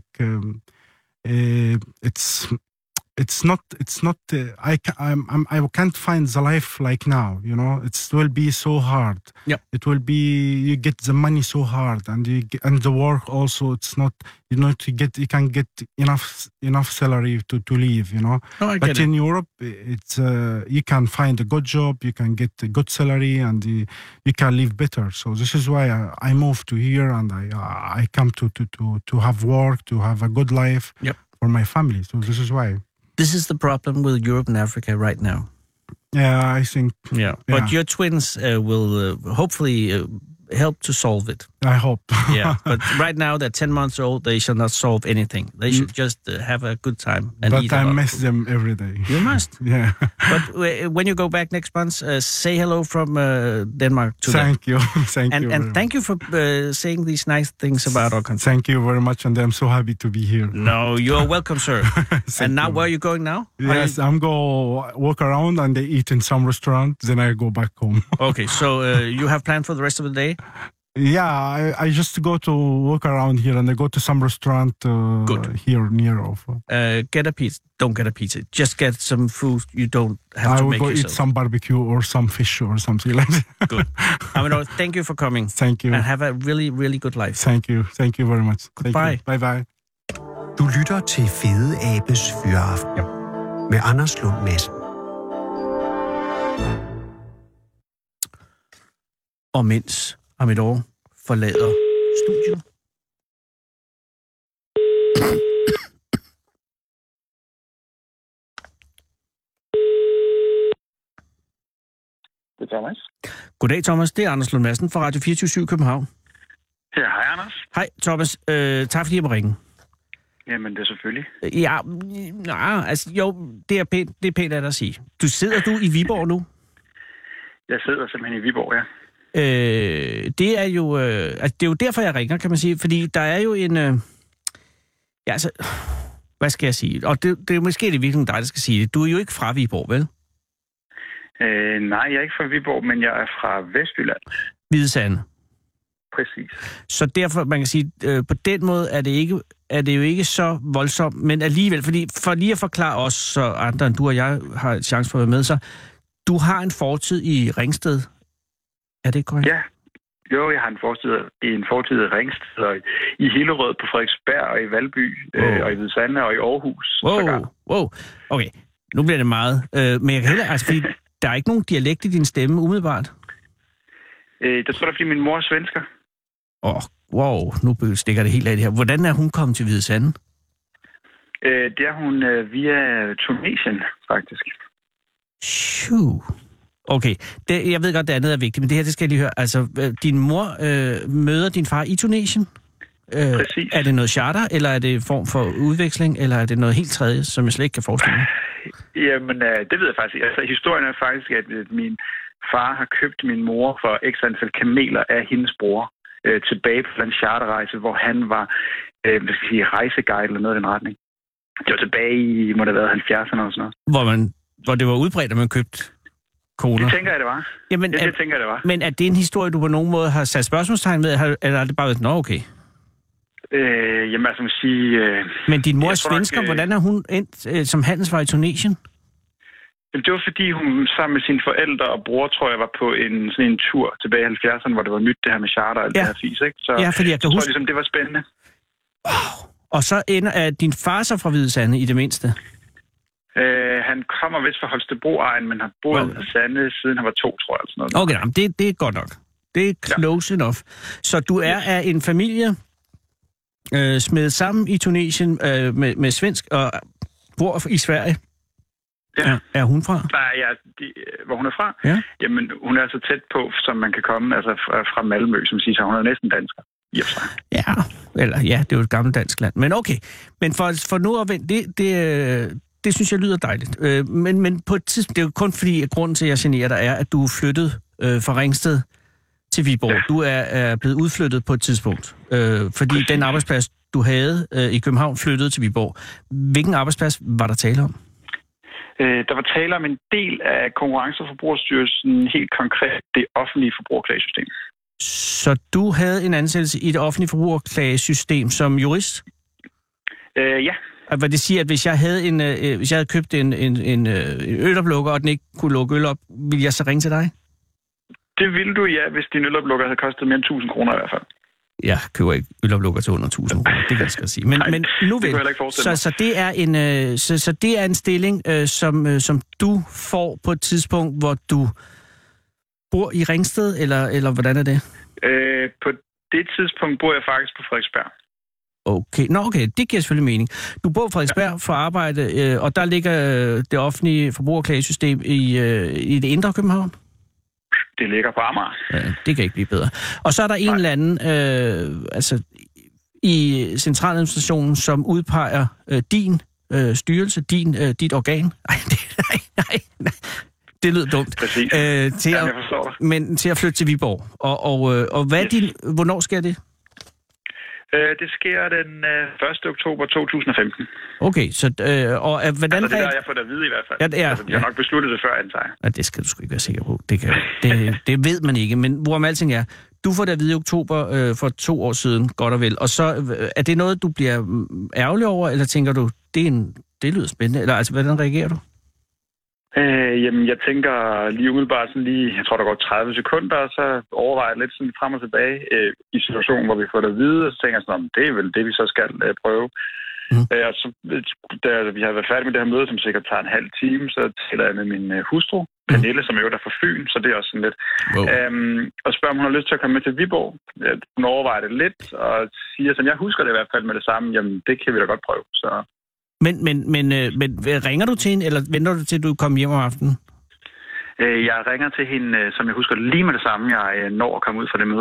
it's not I can't find the life like now, it will be so hard. It will be you get the money so hard and the work also it's not you can get enough salary to live, but in Europe it's you can find a good job, you can get a good salary and you can live better. So this is why I moved to here and I come to have work, to have a good life for my family. So this is why. This is the problem with Europe and Africa right now. Yeah, I think. Yeah, but your twins will hopefully help to solve it. I hope. Yeah, but right now they're 10 months old. They shall not solve anything. They should just have a good time. But I miss them every day. You must. Yeah. But when you go back next month, say hello from Denmark to them. Thank you. And thank you for saying these nice things about our country. Thank you very much, and I'm so happy to be here. No, you are welcome, sir. And now, where are you going now? Yes, I'm go walk around and eat in some restaurant. Then I go back home. Okay, so you have planned for the rest of the day? Yeah, I just go to walk around here and I go to some restaurant here near of. Get a pizza. Don't get a pizza. Just get some food you don't have to make yourself. I will go eat some barbecue or some fish or something like that. Good. Thank you for coming. Thank you. And have a really, really good life. Thank you. Thank you very much. Goodbye. Bye-bye. Du lytter til Fede Abes Fyraften med Anders Lund Madsen. Og mens Amidor forlader studiet. Det er Thomas. Goddag, Thomas. Det er Anders Lund Madsen fra Radio 24/7 København. Ja, hej Anders. Hej, Thomas. Tak fordi jeg må ringe. Jamen, det er selvfølgelig. Ja, altså jo, det er pænt at dig sige. Sidder du i Viborg nu? Jeg sidder simpelthen i Viborg, ja. Det er jo det er jo derfor, jeg ringer, kan man sige. Fordi der er jo en... ja, altså... Hvad skal jeg sige? Og det er måske det virkelig dig, der skal sige det. Du er jo ikke fra Viborg, vel? Nej, jeg er ikke fra Viborg, men jeg er fra Vestjylland. Hvide Sande. Præcis. Så derfor, man kan sige, på den måde er det jo ikke så voldsomt, men alligevel, fordi for lige at forklare os, så andre end du og jeg har en chance for at være med, så du har en fortid i Ringsted. Er det korrekt? Ja. Jo, jeg har en fortid i Ringsted, og i Hillerød, på Frederiksberg, og i Valby, og i Hvide Sande, og i Aarhus. Wow. Okay, nu bliver det meget. Men jeg kan heller, altså, fordi der er ikke nogen dialekt i din stemme, umiddelbart. Det tror jeg, fordi min mor er svensker. Wow, nu stikker det helt af det her. Hvordan er hun kommet til Hvide Sande? Det er hun via Tunesien, faktisk. Okay, jeg ved godt, det andet er vigtigt, men det her, det skal jeg lige høre. Altså, din mor møder din far i Tunesien? Præcis. Er det noget charter, eller er det en form for udveksling, eller er det noget helt tredje, som jeg slet ikke kan forestille mig? Jamen, det ved jeg faktisk ikke. Altså, historien er faktisk, at min far har købt min mor for x antal kameler af hendes bror tilbage på en charterrejse, hvor han var rejseguide eller noget i den retning. Det var tilbage i, må det have været 70'erne og sådan noget. Hvor det var udbredt, at man købte koner. Det tænker jeg, det var. Jamen, det tænker jeg, det var. Men er det en historie, du på nogen måde har sat spørgsmålstegn ved, eller er det bare været, okay? Jamen, altså, man sige... Men din mor er svensker, hvordan er hun endt som handelsvar i Tunesien? Det var fordi, hun sammen med sine forældre og bror, tror jeg, var på sådan en tur tilbage i 70'erne, hvor det var nyt, det her med charter og alt det her fis, ikke? Så, fordi jeg kan huske... ligesom, det var spændende. Wow. Og så er din far så fra Hvide Sande i det mindste? Han kommer vist fra Holstebro-egen, men har boet i Sande, siden han var 2, tror jeg. Eller sådan noget. Okay, jamen, det er godt nok. Det er close enough. Så du er af en familie smedet sammen i Tunesien med svensk og bor i Sverige. Ja. Er hun fra? Hvor hun er fra? Ja. Jamen, hun er så tæt på, som man kan komme, altså fra Malmø, som siger, så hun er næsten dansker. Det er jo et gammelt dansk land. Men okay. Men for nu at vente, det synes jeg lyder dejligt. Men på et tidspunkt, det er jo kun fordi, at grunden til, at jeg generer dig, er, at du er flyttet fra Ringsted til Viborg. Ja. Du er blevet udflyttet på et tidspunkt. Fordi den arbejdsplads, du havde i København, flyttede til Viborg. Hvilken arbejdsplads var der tale om? Der var tale om en del af Konkurrence- og Forbrugerstyrelsen, helt konkret det offentlige forbrugerklagesystem. Så du havde en ansættelse i det offentlige forbrugerklagesystem som jurist? Ja. Hvad det siger, at hvis jeg havde købt en øloplukker, og den ikke kunne lukke øl op, ville jeg så ringe til dig? Det ville du, ja, hvis din øloplukker havde kostet mere end 1.000 kroner i hvert fald. Jeg køber ikke øloplukker til under 1.000 kroner, det kan jeg skal sige. Men nu vel, så det er en stilling, som du får på et tidspunkt, hvor du bor i Ringsted, eller hvordan er det? På det tidspunkt bor jeg faktisk på Frederiksberg. Okay, det giver selvfølgelig mening. Du bor på Frederiksberg for arbejde, og der ligger det offentlige forbrugerklagesystem i det indre København? Det ligger på Amager. Ja, det kan ikke blive bedre. Og så er der en eller anden i centraladministrationen, som udpeger din styrelse, dit organ. Nej. Det lyder dumt. Præcis. Til at flytte til Viborg. Og hvad er hvornår sker det? Det sker den 1. oktober 2015. Okay, så hvordan... Altså, det har jeg fået at vide i hvert fald. Jeg har nok besluttet det før, antager jeg. Ja, det skal du sgu ikke være sikker på. Det ved man ikke, men hvorom alting er, du får det at vide i oktober for 2 år siden, godt og vel. Og så er det noget, du bliver ærgerlig over, eller tænker du, det lyder spændende? Eller altså, hvordan reagerer du? Jamen, jeg tænker lige umiddelbart jeg tror, der går 30 sekunder, og så overvejer jeg lidt sådan frem og tilbage i situationen, hvor vi får det at vide, og så tænker jeg sådan, det er vel det, vi så skal prøve. Og så, da vi har været færdige med det her møde, som sikkert tager en halv time, så taler jeg med min hustru, Pernille, som er jo der fra Fyn, så det er også sådan lidt. Wow. Og spørger, om hun har lyst til at komme med til Viborg. Hun overvejer det lidt, og siger sådan, jeg husker det i hvert fald med det samme, jamen det kan vi da godt prøve, så... Men ringer du til hende, eller venter du til, at du kommer hjem om aftenen? Jeg ringer til hende, som jeg husker lige med det samme, jeg når at komme ud fra det møde her.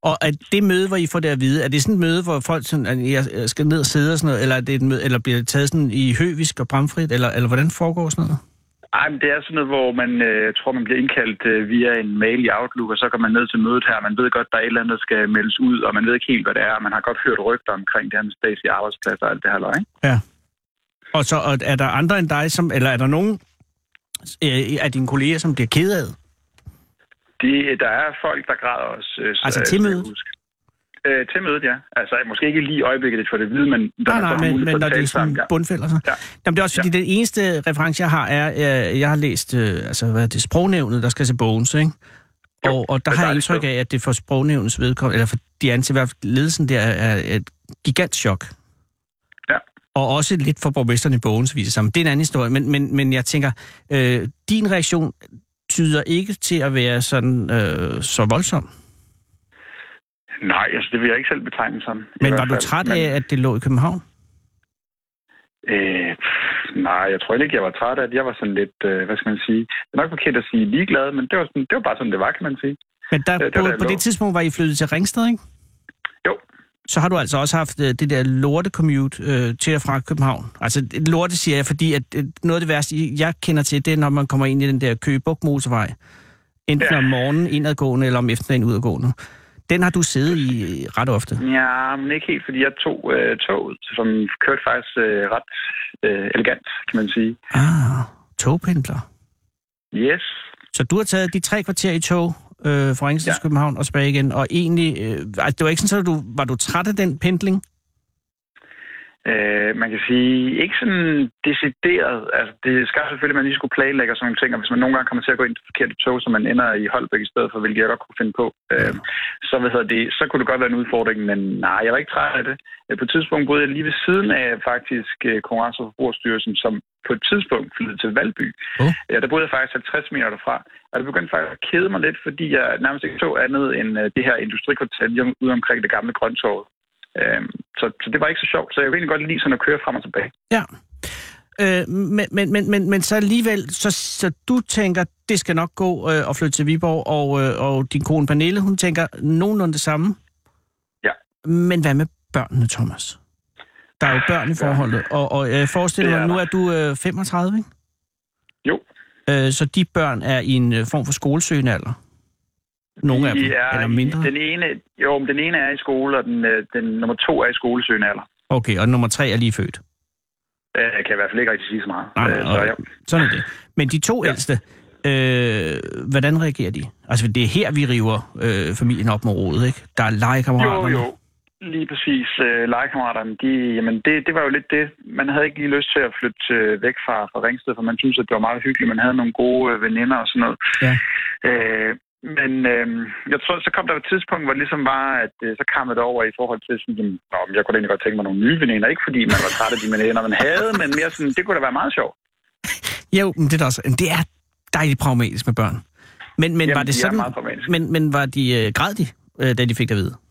Og er det møde, hvor I får det at vide, er det sådan et møde, hvor folk sådan, at jeg skal ned og sidde og sådan noget, eller er det et møde, eller bliver det taget sådan i høvisk og bramfrit, eller hvordan foregår sådan noget? Ej, men det er sådan noget, hvor man tror, man bliver indkaldt via en mail i Outlook, og så går man ned til mødet her. Man ved godt, der er et eller andet, der skal meldes ud, og man ved ikke helt, hvad det er. Man har godt hørt rygter omkring det her med statslige arbejdspladser og alt det her løg. Ja. Og så er der andre end dig, eller er der nogen af dine kolleger, som bliver ked af? Der er folk, der græder også. Altså til mødet? Til mødet, ja. Altså måske ikke lige i øjeblikket, det får det at vide, men... men når det er sådan bundfælder så. Ja. Jamen, det er også fordi, den eneste reference, jeg har, er, jeg har læst sprognævnet, der skal se Bones, ikke? Jo, og der har jeg indtryk af, at det for sprognævnets vedkommende, eller for de anser i hvert fald ledelsen der, er et gigantchok. Ja. Og også lidt for borgmesteren i Bones, viser sig. Det er en anden historie, men jeg tænker, din reaktion tyder ikke til at være sådan så voldsom. Nej, altså det vil jeg ikke selv betegne som. Men var du træt af, at det lå i København? Nej, jeg tror ikke, jeg var træt af det. Jeg var sådan lidt, hvad skal man sige, det er nok forkert at sige ligeglad, men det var bare sådan, det var, kan man sige. Men på det tidspunkt var I flyttet til Ringsted, ikke? Jo. Så har du altså også haft det der lorte-commute til og fra København. Altså lorte siger jeg, fordi at noget af det værste, jeg kender til, det er, når man kommer ind i den der Køge Bugt motorvej. Enten om morgenen indadgående, eller om eftermiddagen udadgående. Den har du siddet i ret ofte? Ja, men ikke helt, fordi jeg tog toget, som kørte faktisk ret elegant, kan man sige. Togpendler. Yes. Så du har taget de 3 kvarter i tog fra Ringsted til København og tilbage igen, og egentlig, det var ikke sådan, at var du træt af den pendling? Man kan sige, ikke sådan decideret. Altså, det skal selvfølgelig, at man lige skulle planlægge og sådan nogle ting, og hvis man nogle gange kommer til at gå ind til forkerte tog, så man ender i Holbæk i stedet for, hvilket jeg godt kunne finde på, så kunne det godt være en udfordring, men nej, jeg var ikke træt af det. På et tidspunkt boede jeg lige ved siden af faktisk Konkurrence- og Forbrugerstyrelsen, som på et tidspunkt flyttede til Valby. Ja, der boede jeg faktisk 50 meter derfra, og det begyndte faktisk at kede mig lidt, fordi jeg nærmest ikke så andet end det her industrikvarter ude omkring det gamle Grøntorvet. Så det var ikke så sjovt, så jeg vil egentlig godt lide sådan at køre frem og tilbage. Ja, men så alligevel, så du tænker, det skal nok gå at flytte til Viborg, og din kone Pernille, hun tænker nogenlunde det samme. Ja. Men hvad med børnene, Thomas? Der er jo børn i forholdet, og jeg forestiller mig, nu er du 35, ikke? Jo. Så de børn er i en form for skolesøgende alder? Nogle af dem, eller mindre? Den ene er i skole, og den nummer 2 er i skolesøgende alder. Okay, og nummer 3 er lige født? Jeg kan i hvert fald ikke rigtig sige så meget. Sådan er det. Men de 2 ældste, hvordan reagerer de? Altså, det er her, vi river familien op med rodet, ikke? Der er legekammeraterne. Jo. Lige præcis. Legekammeraterne, det var jo lidt det. Man havde ikke lige lyst til at flytte væk fra Ringsted, for man synes, at det var meget hyggeligt. Man havde nogle gode veninder og sådan noget. Ja. Men jeg tror, så kom der et tidspunkt, hvor det ligesom var, at så kam det over i forhold til sådan, jeg kunne egentlig godt tænke mig nogle nye veninder. Ikke fordi man var træt af de veninder, man havde, men mere sådan, det kunne da være meget sjovt. Jo, men det er dejligt pragmatisk med børn. Men jamen, var det sådan, men var de græd de, da de fik det at vide?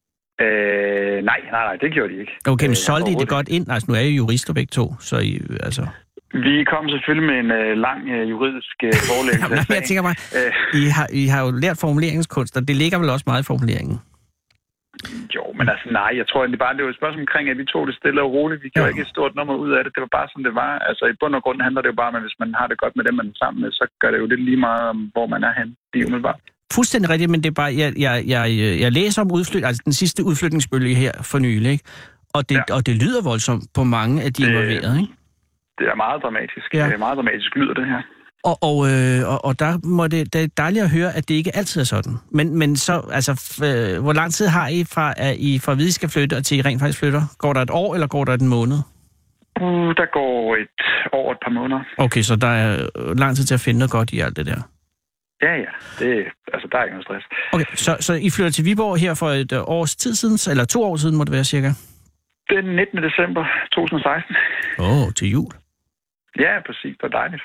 Nej, det gjorde de ikke. Okay, men solgte I det godt ind? Altså, nu er I jurister begge to, så I, altså... Vi kom selvfølgelig med en lang juridisk forelæggelse. Jamen, jeg tænker bare, I har jo lært formuleringskunst, og det ligger vel også meget i formuleringen? Jo, men altså nej, jeg tror, det var et spørgsmål omkring, at vi tog det stille og roligt. Vi gjorde ikke et stort nummer ud af det. Det var bare, som det var. Altså i bund og grund handler det jo bare om, at hvis man har det godt med dem, man er sammen med, så gør det jo lidt lige meget om, hvor man er henne. Det er umiddelbart. Fuldstændig rigtigt, men det er bare, jeg læser om altså den sidste udflytningsbølge her for nylig, ikke? Og det lyder voldsomt på mange af de involverede, ikke? Det er meget dramatisk. Ja. Det er meget dramatisk lyder det her. Og der må det er dejligt at høre, at det ikke altid er sådan. Men så, altså, hvor lang tid har I fra at vide, skal flytte, og til I rent faktisk flytter? Går der et år, eller går der en måned? Der går et år, et par måneder. Okay, så der er lang tid til at finde noget godt i alt det der? Ja. Der er ikke noget stress. Okay, så I flytter til Viborg her for et års tid siden, eller 2 år siden må det være cirka? Den 19. december 2016. Til jul? Ja, præcis. Det er dejligt.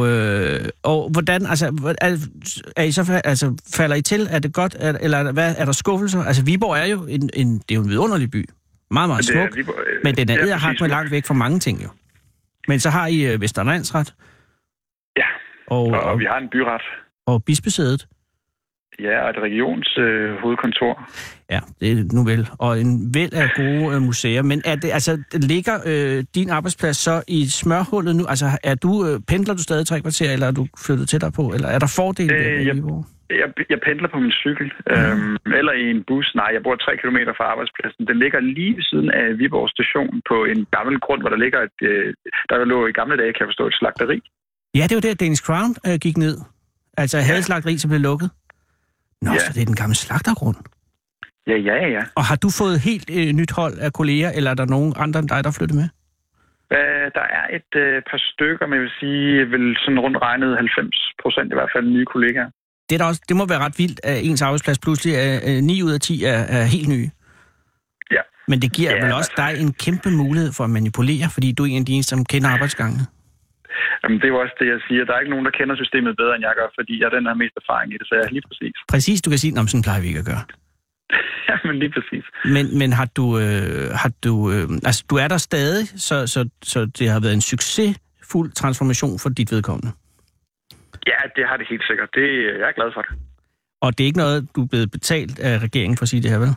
Og hvordan, altså, er I så, altså, falder I til? Er det godt, eller hvad, er der skuffelser? Altså, Viborg er jo det er jo en vidunderlig by. Meget, meget smuk. Men den er edderhak med langt væk fra mange ting, jo. Men så har I Vestre Landsret. Ja, og vi har en byret. Og bispesædet. Ja, og et regionshovedkontor. Ja, det er nu vel. Og en væld af gode museer. Men er det, altså, ligger din arbejdsplads så i smørhullet nu? Altså, pendler du stadig 3 kvarter, eller er du flyttet tættere på? Eller er der fordele ved Viborg? Jeg pendler på min cykel, eller i en bus. Nej, jeg bor 3 kilometer fra arbejdspladsen. Den ligger lige ved siden af Viborg station på en gammel grund, hvor der ligger der lå i gamle dage, kan jeg forstå, et slagteri. Ja, det var der, Danish Crown gik ned. Altså havde slagteri, som blev lukket. Nå, så det er den gamle slagtergrund. Ja. Og har du fået helt nyt hold af kolleger, eller er der nogen andre end dig, der flyttet med? Der er et par stykker, men jeg vil sige, vel sådan rundt regnet 90% i hvert fald nye kollegaer. Det må være ret vildt, at ens arbejdsplads pludselig er 9 ud af 10 er helt nye. Ja. Men det giver vel også dig en kæmpe mulighed for at manipulere, fordi du er en af de eneste, som kender arbejdsgangene. Jamen, det er jo også det, jeg siger. Der er ikke nogen, der kender systemet bedre, end jeg gør, fordi jeg er den, der har mest erfaring i det, så jeg er lige præcis. Præcis, du kan sige, sådan plejer vi ikke at gøre. Jamen, lige præcis. Men har du altså, du er der stadig, så det har været en succesfuld transformation for dit vedkommende? Ja, det har det helt sikkert. Jeg er glad for det. Og det er ikke noget, du er blevet betalt af regeringen for at sige det her, vel?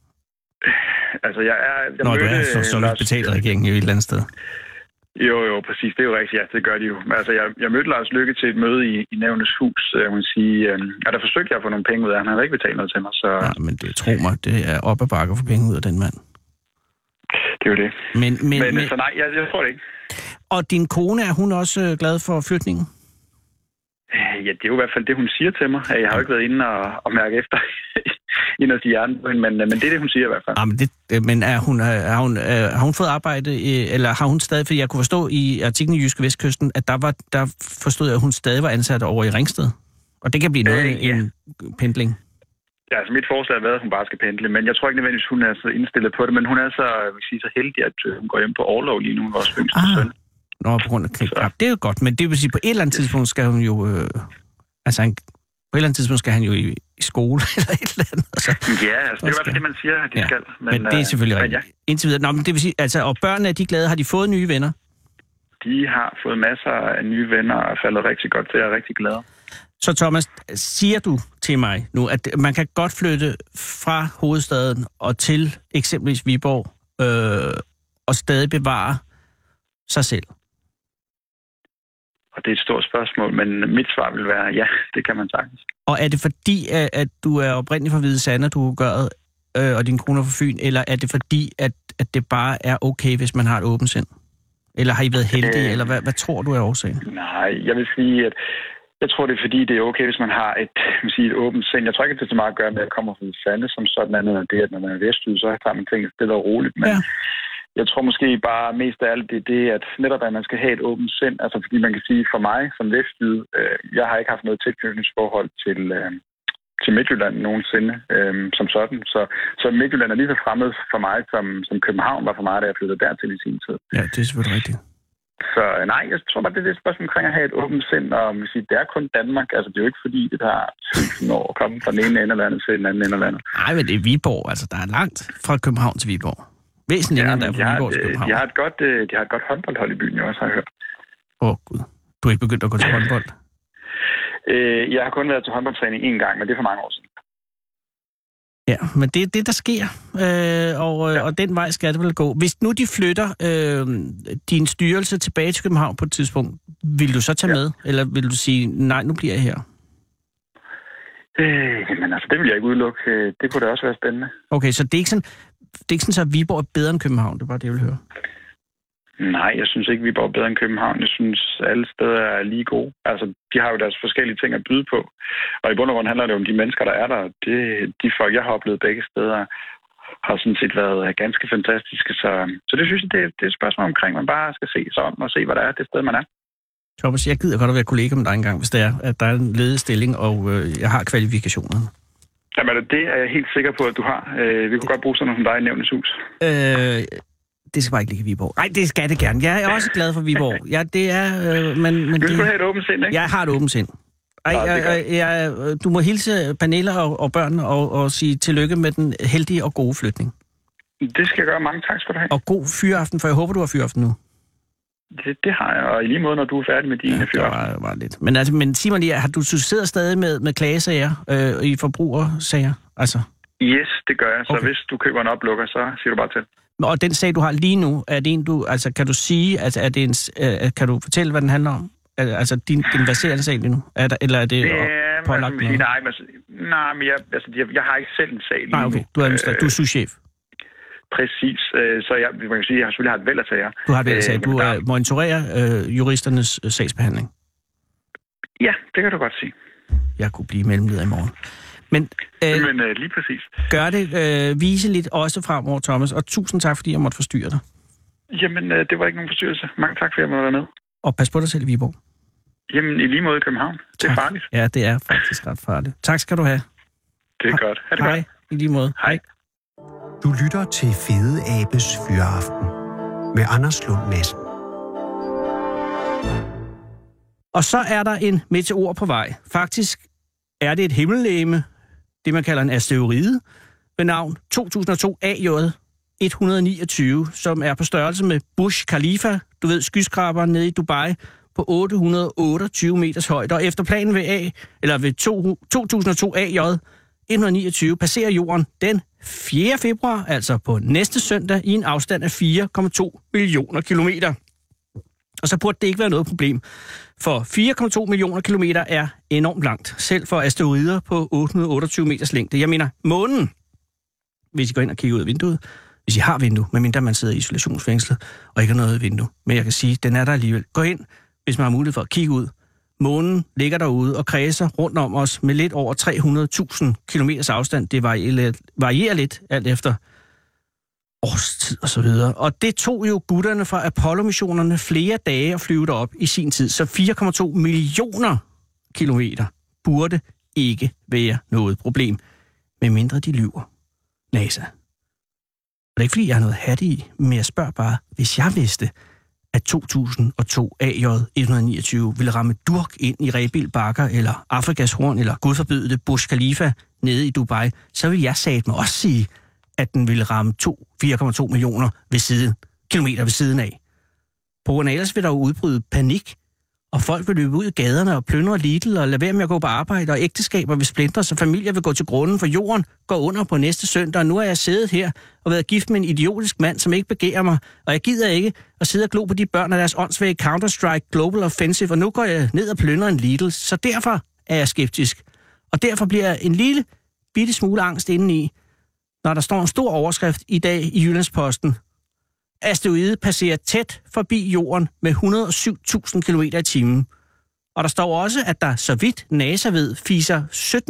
Altså, jeg du er så betalt af regeringen i et eller andet sted. Jo, præcis. Det er jo rigtigt. Ja, det gør de jo. Altså, jeg mødte Lars Løkke til et møde i Nævnets Hus, jeg må sige. Og der forsøgte jeg at få nogle penge ud af. Han havde ikke betalt noget til mig, så... Ja, men tro mig, det er op ad bakke at få penge ud af den mand. Det er jo det. Men så nej, jeg tror det ikke. Og din kone, er hun også glad for flytningen? Ja, det er jo i hvert fald det, hun siger til mig. Jeg har jo ikke været inde og mærke efter ind og sige hjernen på hende, men det er det, hun siger i hvert fald. Men har hun fået arbejde, eller har hun stadig, fordi jeg kunne forstå i artiklen i Jyske Vestkysten, at der forstod jeg, at hun stadig var ansat over i Ringsted. Og det kan blive noget en pendling. Ja, altså mit forslag har været, at hun bare skal pendle, men jeg tror ikke nødvendigvis, hun er så indstillet på det, men hun er så heldig, at hun går hjem på orlov lige nu, vores yngste søn. Nå, på grund af krig. Ja, det er jo godt, men det vil sige, på et eller andet tidspunkt skal hun jo... på et eller andet tidspunkt skal han jo i skole eller et eller andet. Ja, altså, det er i hvert fald det, man siger, at de skal. Men det er selvfølgelig rigtigt. Ja. Indtil videre. Nå, men det vil sige, altså, og børnene er de glade? Har de fået nye venner? De har fået masser af nye venner og er faldet rigtig godt til. Jeg er rigtig glad. Så Thomas, siger du til mig nu, at man kan godt flytte fra hovedstaden og til eksempelvis Viborg og stadig bevare sig selv? Og det er et stort spørgsmål, men mit svar vil være, ja, det kan man sagtens. Og er det fordi, at du er oprindelig fra Hvide Sande, du gør og din kone fra Fyn, eller er det fordi, at det bare er okay, hvis man har et åbent sind? Eller har I været heldige, eller hvad tror du er årsagen? Nej, jeg vil sige, at jeg tror, det er fordi, det er okay, hvis man har et åbent sind. Jeg tror ikke, at det er så meget at gøre med, at jeg kommer fra Hvide Sande, som sådan andet end det, at når man er vestjyde, så tager man tingene stille og roligt. Men jeg tror måske bare mest af alt det, at netop at man skal have et åbent sind. Altså fordi man kan sige, for mig som vestjyde, jeg har ikke haft noget tilknytningsforhold til Midtjylland nogensinde som sådan. Så Midtjylland er lige så fremmed for mig, som København var for mig, da jeg flyttede dertil i sin tid. Ja, det er selvfølgelig rigtigt. Så nej, jeg tror bare, det er et spørgsmål omkring at have et åbent sind, og man siger, det er kun Danmark. Altså, det er jo ikke fordi, det tager 1000 år at komme fra den ene ende af landet til den anden ende af landet. Nej, men det er Viborg. Altså, der er langt fra København til Viborg. Væsentligt længere der fra Viborg til København. De har et godt håndboldhold i byen, jeg også har hørt. Gud. Du er ikke begyndt at gå til håndbold? Jeg har kun været til håndboldtræning én gang, men det er for mange år siden. Ja, men det er det, der sker, og den vej skal det vel gå. Hvis nu de flytter din styrelse tilbage til København på et tidspunkt, vil du så tage med? Eller vil du sige, nej, nu bliver jeg her? Jamen altså, det vil jeg ikke udelukke. Det kunne da også være spændende. Okay, så det er ikke sådan, at Viborg er bedre end København? Det er bare det, jeg vil høre. Nej, jeg synes ikke, Viborg er bedre end København. Jeg synes, alle steder er lige gode. Altså, de har jo deres forskellige ting at byde på. Og i bund og grund handler det om de mennesker, der er der. De folk, jeg har oplevet begge steder, har sådan set været ganske fantastiske. Så det synes jeg, det er et spørgsmål omkring, man bare skal se sig om og se, hvad der er det sted, man er. Thomas, jeg gider godt at være kollega med dig engang, hvis det er, at der er en ledig stilling, og jeg har kvalifikationerne. Jamen, det er jeg helt sikker på, at du har. Vi kunne godt bruge sådan noget som dig i Nævnets Hus. Det skal bare ikke ligge i Viborg. Nej, det skal det gerne. Jeg er også glad for Viborg. Ja, det er... men vil du have et åbent sind, ikke? Jeg har et åbent sind. Du må hilse Pernille og børnene og sige tillykke med den heldige og gode flytning. Det skal jeg gøre. Mange tak skal du have. Og god fyraften, for jeg håber, du har fyraften nu. Det har jeg, og i lige måde, når du er færdig med dine fyraften. Det var lidt. Men sig mig lige, har du sidder stadig med klagesager i forbrugersager? Altså? Yes, det gør jeg. Så hvis du køber en oplukker, så siger du bare til. Og den sag, du har lige nu, er det en, kan du sige, altså, kan du fortælle, hvad den handler om? Altså, din verserende sag lige nu? Eller er det pålagt noget? Nej, men jeg har ikke selv en sag lige nu. Okay. Du er souschef. Præcis. Så man kan sige, jeg har selvfølgelig har et væld af sager. Du har et væld af sager. Du monitorerer juristernes sagsbehandling. Ja, det kan du godt sige. Jeg kunne blive mellemleder i morgen. Men lige præcis. Gør det viseligt også fremover, Thomas, og tusind tak, fordi jeg måtte forstyrre dig. Jamen, det var ikke nogen forstyrrelse. Mange tak, for at jeg måtte være med. Og pas på dig selv i Viborg. Jamen, i lige måde i København. Det er farligt. Ja, det er faktisk ret farligt. Tak skal du have. Det er godt. Ha' det godt. Hej. I lige måde. Hej. Du lytter til Fede Abes Fyraften med Anders Lund Madsen. Og så er der en meteor på vej. Faktisk er det et himmellegeme, det man kalder en asteroide, ved navn 2002 AJ 129, som er på størrelse med Burj Khalifa, du ved, skyskraberen nede i Dubai, på 828 meters højde. Og efter planen ved 2002 AJ 129 passerer jorden den 4. februar, altså på næste søndag, i en afstand af 4,2 millioner kilometer. Og så burde det ikke være noget problem, for 4,2 millioner kilometer er enormt langt, selv for asteroider på 828 meters længde. Jeg mener, månen, hvis I går ind og kigger ud af vinduet, hvis I har vindue, medmindre man sidder i isolationsfængslet og ikke har noget vindue. Men jeg kan sige, den er der alligevel. Gå ind, hvis man har mulighed for at kigge ud. Månen ligger derude og kredser rundt om os med lidt over 300.000 kilometers afstand. Det varierer lidt, alt efter årstid og så videre. Og det tog jo gutterne fra Apollo-missionerne flere dage at flyve derop i sin tid. Så 4,2 millioner kilometer burde ikke være noget problem, medmindre de lyver. NASA. Og det er ikke, fordi jeg har noget hat i, men jeg spørger bare, hvis jeg vidste, at 2002 AJ 129 ville ramme durk ind i Rebild Bakker, eller Afrikas Horn, eller Gud forbyde det, Burj Khalifa nede i Dubai, så ville jeg satme også sige, at den ville ramme 4,2 millioner kilometer ved siden af. På grund af ellers vil der jo udbryde panik, og folk vil løbe ud i gaderne og plyndre Lidl og lade være med at gå på arbejde, og ægteskaber vil splindre, så familier vil gå til grunden, for jorden går under på næste søndag, og nu er jeg siddet her og været gift med en idiotisk mand, som ikke begærer mig, og jeg gider ikke at sidde og glo på de børn af deres åndssvage Counter-Strike Global Offensive, og nu går jeg ned og plyndrer en Lidl, så derfor er jeg skeptisk. Og derfor bliver jeg en lille bitte smule angst indeni, når der står en stor overskrift i dag i Jyllandsposten. Asteroide passerer tæt forbi jorden med 107.000 km i timen. Og der står også, at der, så vidt NASA ved, fiser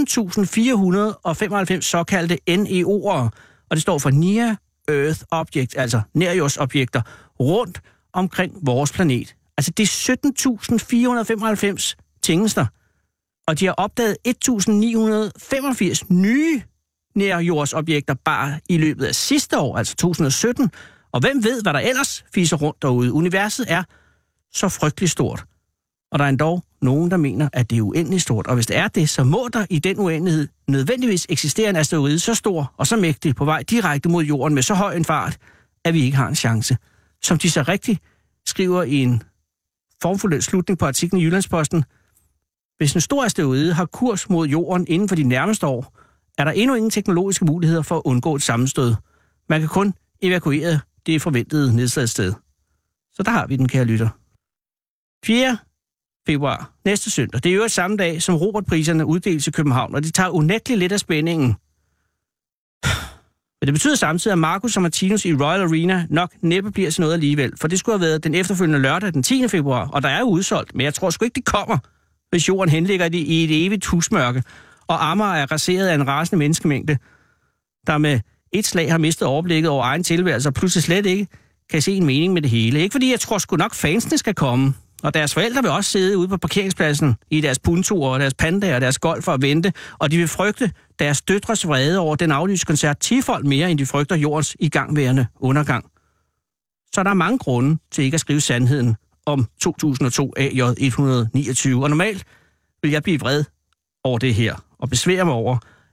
17.495 såkaldte NEO'er, og det står for Near Earth Object, altså nærjordsobjekter, rundt omkring vores planet. Altså det er 17.495 tingester, og de har opdaget 1.985 nye nærjordsobjekter bare i løbet af sidste år, altså 2017. Og hvem ved, hvad der ellers fiser rundt derude? Universet er så frygteligt stort. Og der er endda nogen, der mener, at det er uendeligt stort. Og hvis det er det, så må der i den uendelighed nødvendigvis eksistere en asteroide så stor og så mægtig på vej direkte mod jorden med så høj en fart, at vi ikke har en chance. Som de så rigtigt skriver i en formfuld slutning på artiklen i Jyllandsposten, hvis en stor asteroide har kurs mod jorden inden for de nærmeste år, er der endnu ingen teknologiske muligheder for at undgå et sammenstød. Man kan kun evakuere det forventede nedslagssted. Så der har vi den, kære lytter. 4. februar, næste søndag. Det er jo samme dag, som Robertpriserne uddeles i København, og det tager unægteligt lidt af spændingen. Men det betyder samtidig, at Marcus og Martinus i Royal Arena nok næppe bliver til noget alligevel, for det skulle have været den efterfølgende lørdag, den 10. februar, og der er jo udsolgt, men jeg tror sgu ikke, de kommer, hvis jorden henligger det i et evigt husmørke, og Amager er raseret af en rasende menneskemængde, der med et slag har mistet overblikket over egen tilværelse, og pludselig slet ikke kan se en mening med det hele. Ikke fordi jeg tror sgu nok fansene skal komme, og deres forældre vil også sidde ude på parkeringspladsen i deres puntoer og deres pandaer og deres golf og vente, og de vil frygte deres døtres vrede over den aflyste koncert 10-fold mere, end de frygter jordens igangværende undergang. Så der er mange grunde til ikke at skrive sandheden om 2002 AJ 129, og normalt vil jeg blive vred over det her, og besvære mig over,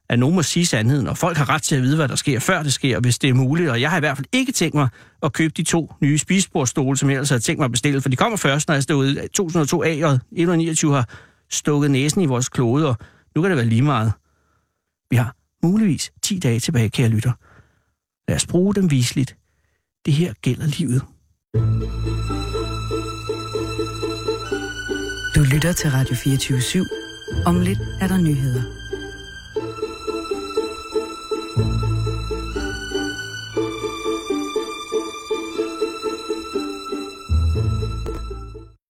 at nogen må sige sandheden, og folk har ret til at vide, hvad der sker, før det sker, hvis det er muligt. Og jeg har i hvert fald ikke tænkt mig at købe de 2 nye spisebordstole, som jeg ellers havde tænkt mig at bestille, for de kommer først, når jeg stod ude. 2002 AJ 129 har stukket næsen i vores klode, og nu kan det være lige meget. Vi har muligvis 10 dage tilbage, kære lytter. Lad os bruge dem viseligt. Det her gælder livet. Du lytter til Radio 24/7. Om lidt er der nyheder.